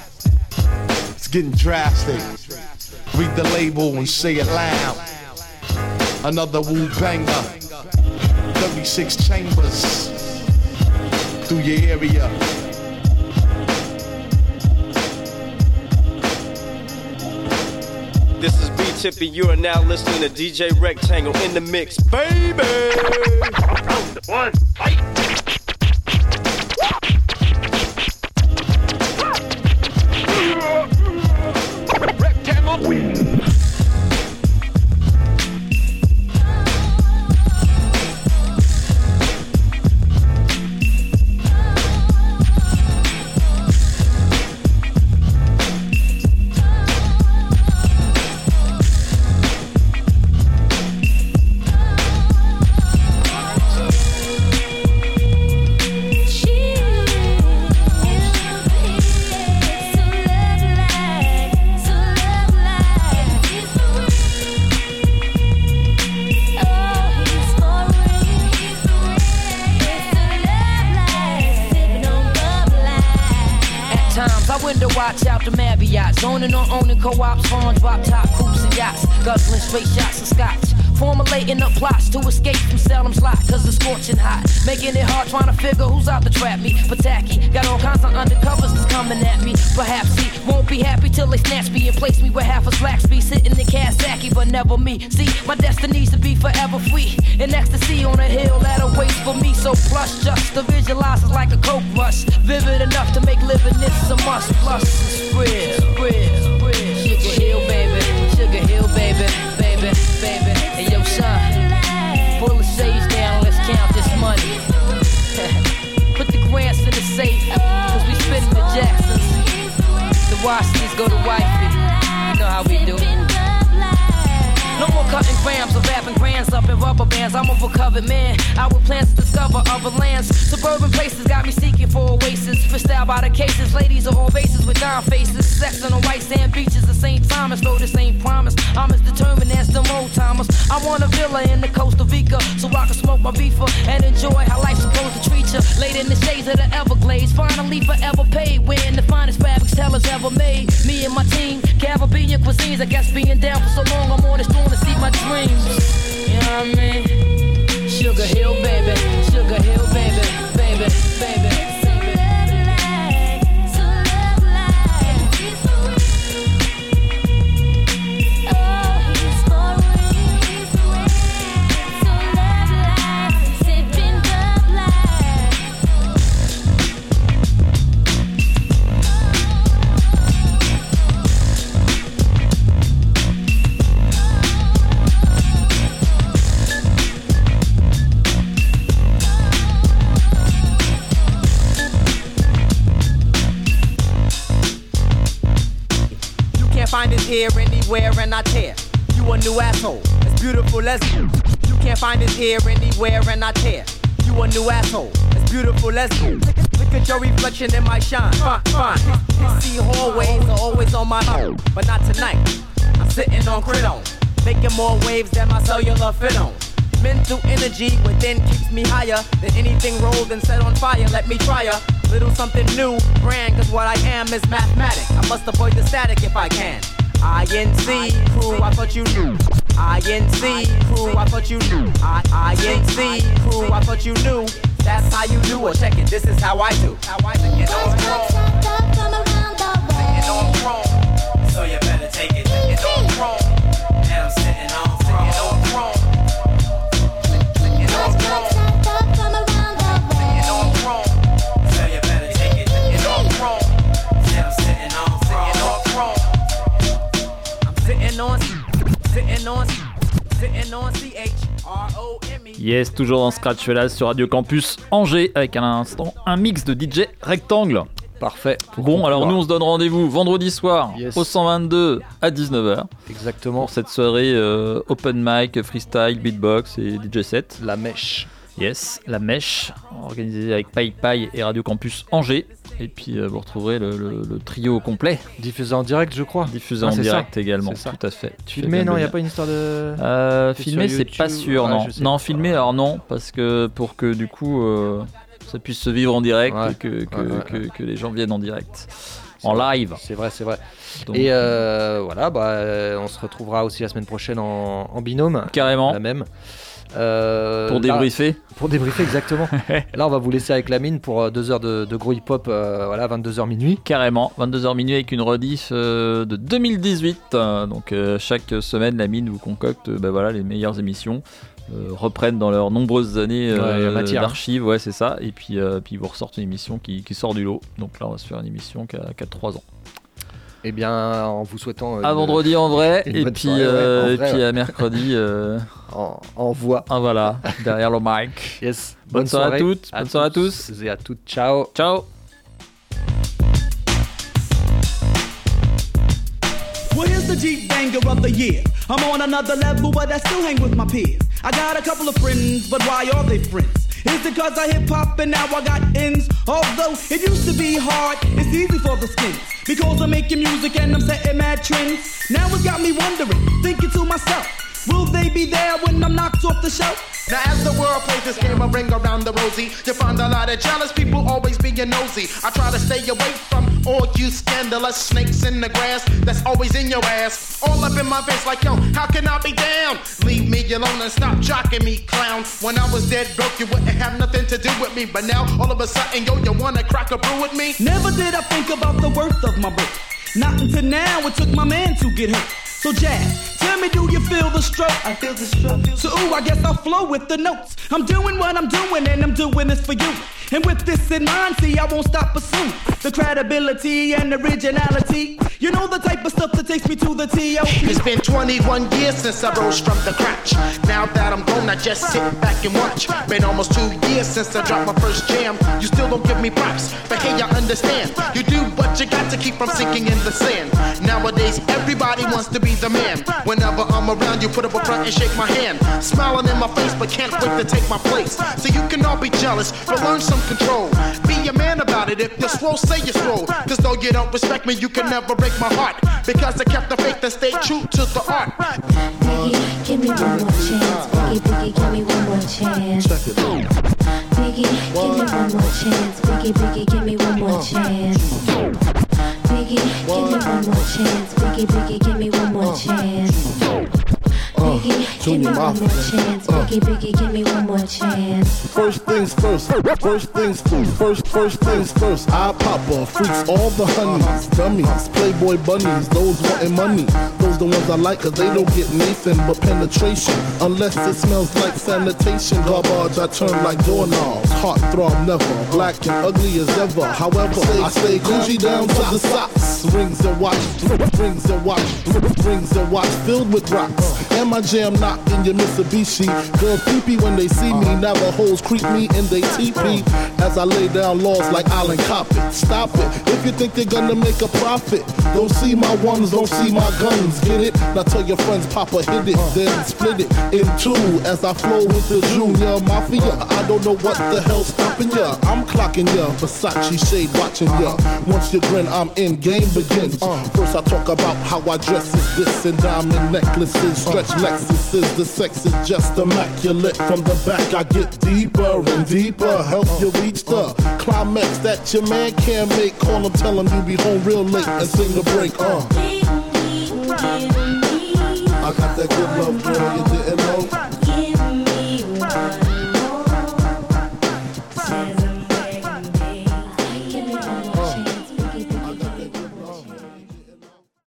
It's getting drastic. Read the label and say it loud. Another Wu banger. thirty-six chambers through your area. This is B-Tippy, you are now listening to D J Rectangle in the mix, baby! One, fight! Rectangle wins. Watch out the Marriott, zoning on owning co-ops, farm drop top coops and yachts, guzzling straight shots of scotch, formulating up plots to escape from Salem's lot, cause it's scorching hot, making it hard trying to figure who's out to trap me, but tacky, got all kinds of undercovers that's coming at me, perhaps he won't be happy till they snatch me and place me where half a slacks be, sitting in Kawasaki, but never me, see, my destiny's to be forever free, in ecstasy on a hill that awaits for me, so plush just to visualize is like a coke rush, vivid enough to make living this a must, plus it's real, real, real, Sugar Hill, baby, Sugar Hill, baby, baby, baby, and yo son, pull the sage down, let's count this money, put the grants in the safe, cause we spitting the Jacksons, the Washingtons go to wifey, you know how we do. No more cutting grams of wrapping grands up in rubber bands. I'm a recovered man. I with plans to discover other lands. Suburban places got me seeking for oasis. For style by the cases, ladies are all races with dime faces. Sex on the white sand beaches of Saint Thomas. Though this ain't promise, I'm as determined as the old timers. I want a villa in the Costa Rica so I can smoke my reefer and enjoy how life's supposed to treat you. Laid in the shades of the Everglades, finally forever paid. Wearing the finest fabrics tellers ever made. Me and my team, Caribbean cuisines. I guess being down for so long, I'm on this throne to see my dreams. You know what I mean? Sugar Hill, baby. Sugar Hill, baby. Baby, baby. Find it here, anywhere, and I tear. You a new asshole, as beautiful as you. You can't find it here, anywhere, and I tear. You a new asshole, as beautiful as you. Look at your reflection in my shine. Fine, fine. You see hallways are always on my own, but not tonight. I'm sitting on Cridon, making more waves than my cellular fit on. Mental energy within keeps me higher than anything rolled and set on fire. Let me try a little something new, brand, cause what I am is mathematic. I must avoid the static if I can. I N C, crew, I thought you knew. I N C, crew, I thought you knew. I N C, crew, I thought you knew. That's how you do it, check it, this is how I do. How I do, you know I'm wrong. You know I'm wrong. So you better take it, you know I'm wrong. And I'm sitting on throne. You know I'm wrong. You know I'm wrong. You know I'm wrong. So you better take it, you know I'm wrong. And I'm sitting on throne. You know I'm wrong. Sitting on, sitting on, sitting on C H R O M E. Yes, toujours dans Scratch Fellas sur Radio Campus Angers avec à l'instant un mix de D J Rectangle. Parfait. Bon, alors nous on se donne rendez-vous vendredi soir yes. au cent vingt-deux à dix-neuf heures. Exactement. Pour cette soirée euh, open mic, freestyle, beatbox et D J set. La mèche. Yes, la mèche, organisée avec Paille Paille et Radio Campus Angers. Et puis euh, vous retrouverez le, le, le trio complet. Diffusé en direct, je crois. Diffusé ah, en direct ça. également, tout à fait. Tu filmé, non, il n'y a pas une histoire de. Euh, filmé, c'est pas sûr, ouais, non. Non, filmé, alors non, parce que pour que du coup euh, ça puisse se vivre en direct ouais. et que, que, ouais, ouais, que, ouais. que les gens viennent en direct. C'est en vrai. live. C'est vrai, c'est vrai. Donc, et euh, voilà, bah, on se retrouvera aussi la semaine prochaine en, en binôme. Carrément. La même. Euh, pour débriefer là, Pour débriefer, exactement. Là, on va vous laisser avec la mine pour deux heures de, de gros hip-hop, euh, voilà, vingt-deux heures minuit. Carrément, vingt-deux heures minuit avec une rediff euh, de deux mille dix-huit. Euh, donc, euh, chaque semaine, la mine vous concocte euh, bah, voilà, les meilleures émissions. Euh, reprennent dans leurs nombreuses années euh, ouais, matière, d'archives, hein. ouais, c'est ça. Et puis, euh, puis, vous ressortez une émission qui, qui sort du lot. Donc là, on va se faire une émission qui a, qui a trois ans. Eh bien, en vous souhaitant. À une, vendredi en vrai, et puis, soirée, euh, ouais, et vrai, puis ouais. à mercredi. Euh, en, en voix. Ah voilà, derrière le mic. Yes. Bonne, bonne soirée, soirée à toutes. À bonne soirée à tous. Et à toutes. Ciao. Ciao. Well, here's the Jeep banger of the year. I'm on another level, but I still hang with my peers. I got a couple of friends, but why are they friends? Is it cause I hip hop and now I got ends? Although it used to be hard, it's easy for the skins. Because I'm making music and I'm setting mad trends. Now it's got me wondering, thinking to myself, will they be there when I'm knocked off the shelf? Now as the world plays this game, I ring around the rosy. You find a lot of jealous people always being nosy. I try to stay away from all you scandalous snakes in the grass that's always in your ass. All up in my face like, yo, how can I be down? Leave me alone and stop jocking me, clown. When I was dead broke, you wouldn't have nothing to do with me. But now, all of a sudden, yo, you wanna crack a brew with me? Never did I think about the worth of my book. Not until now, it took my man to get hurt. So Jazz, tell me, do you feel the stroke? I feel the stroke. So ooh, I guess I'll flow with the notes. I'm doing what I'm doing and I'm doing this for you. And with this in mind, see, I won't stop pursuing the credibility and originality. You know the type of stuff that takes me to the T O P. It's been twenty-one years since I rose from the crotch. Now that I'm gone, I just sit back and watch. Been almost two years since I dropped my first jam. You still don't give me props, but hey, I understand. You do what you got to keep from sinking in the sand. Nowadays, everybody wants to be the man. Whenever I'm around, you put up a front and shake my hand. Smiling in my face, but can't wait to take my place. So you can all be jealous, but learn some control. Be a man about it. If you're slow, say you're slow. Cause though you don't respect me, you can never break my heart. Because I kept the faith and stayed true to the art. Biggie, give me one more chance. Biggie, Biggie, give me one more chance. Check it out. Biggie, give me one more chance. Biggie, Biggie, give me one more chance. Biggie, give me one more chance. Biggie, Biggie, give me one more chance. Biggie, give me one more chance. Biggie, Biggie, give me one more chance. First things first, first things first, first, first things first. I pop off, freaks all the honeys, dummies, playboy bunnies, those wanting money. Those the ones I like cause they don't get Nathan but penetration. Unless it smells like sanitation. Garbage I turn like doorknobs. Heart throb never, black and ugly as ever. However, I stay Gucci down to the socks. Rings and watch, rings and watch, rings and watch filled with rocks. And my jam knocked in your Mitsubishi. Girls peepee when they see me. Navajos creep me in they teepee. As I lay down laws like Island Coppet. Stop it, if you think you're gonna make a profit. Don't see my ones, don't see my guns. Get it? Now tell your friends Papa hit it, then split it in two. As I flow with the Junior Mafia. I don't know what the hell's stopping ya. I'm clocking ya, Versace shade watching ya. Once you grin, I'm in, game begins. First I talk about how I dress is this and diamond necklaces, stretch Lexuses. The sex is just immaculate. From the back I get deeper and deeper. Help you reach the climax that your man can't make. Call him, tell him you be home real late and sing the break. Uh. I got that good love, girl, you did.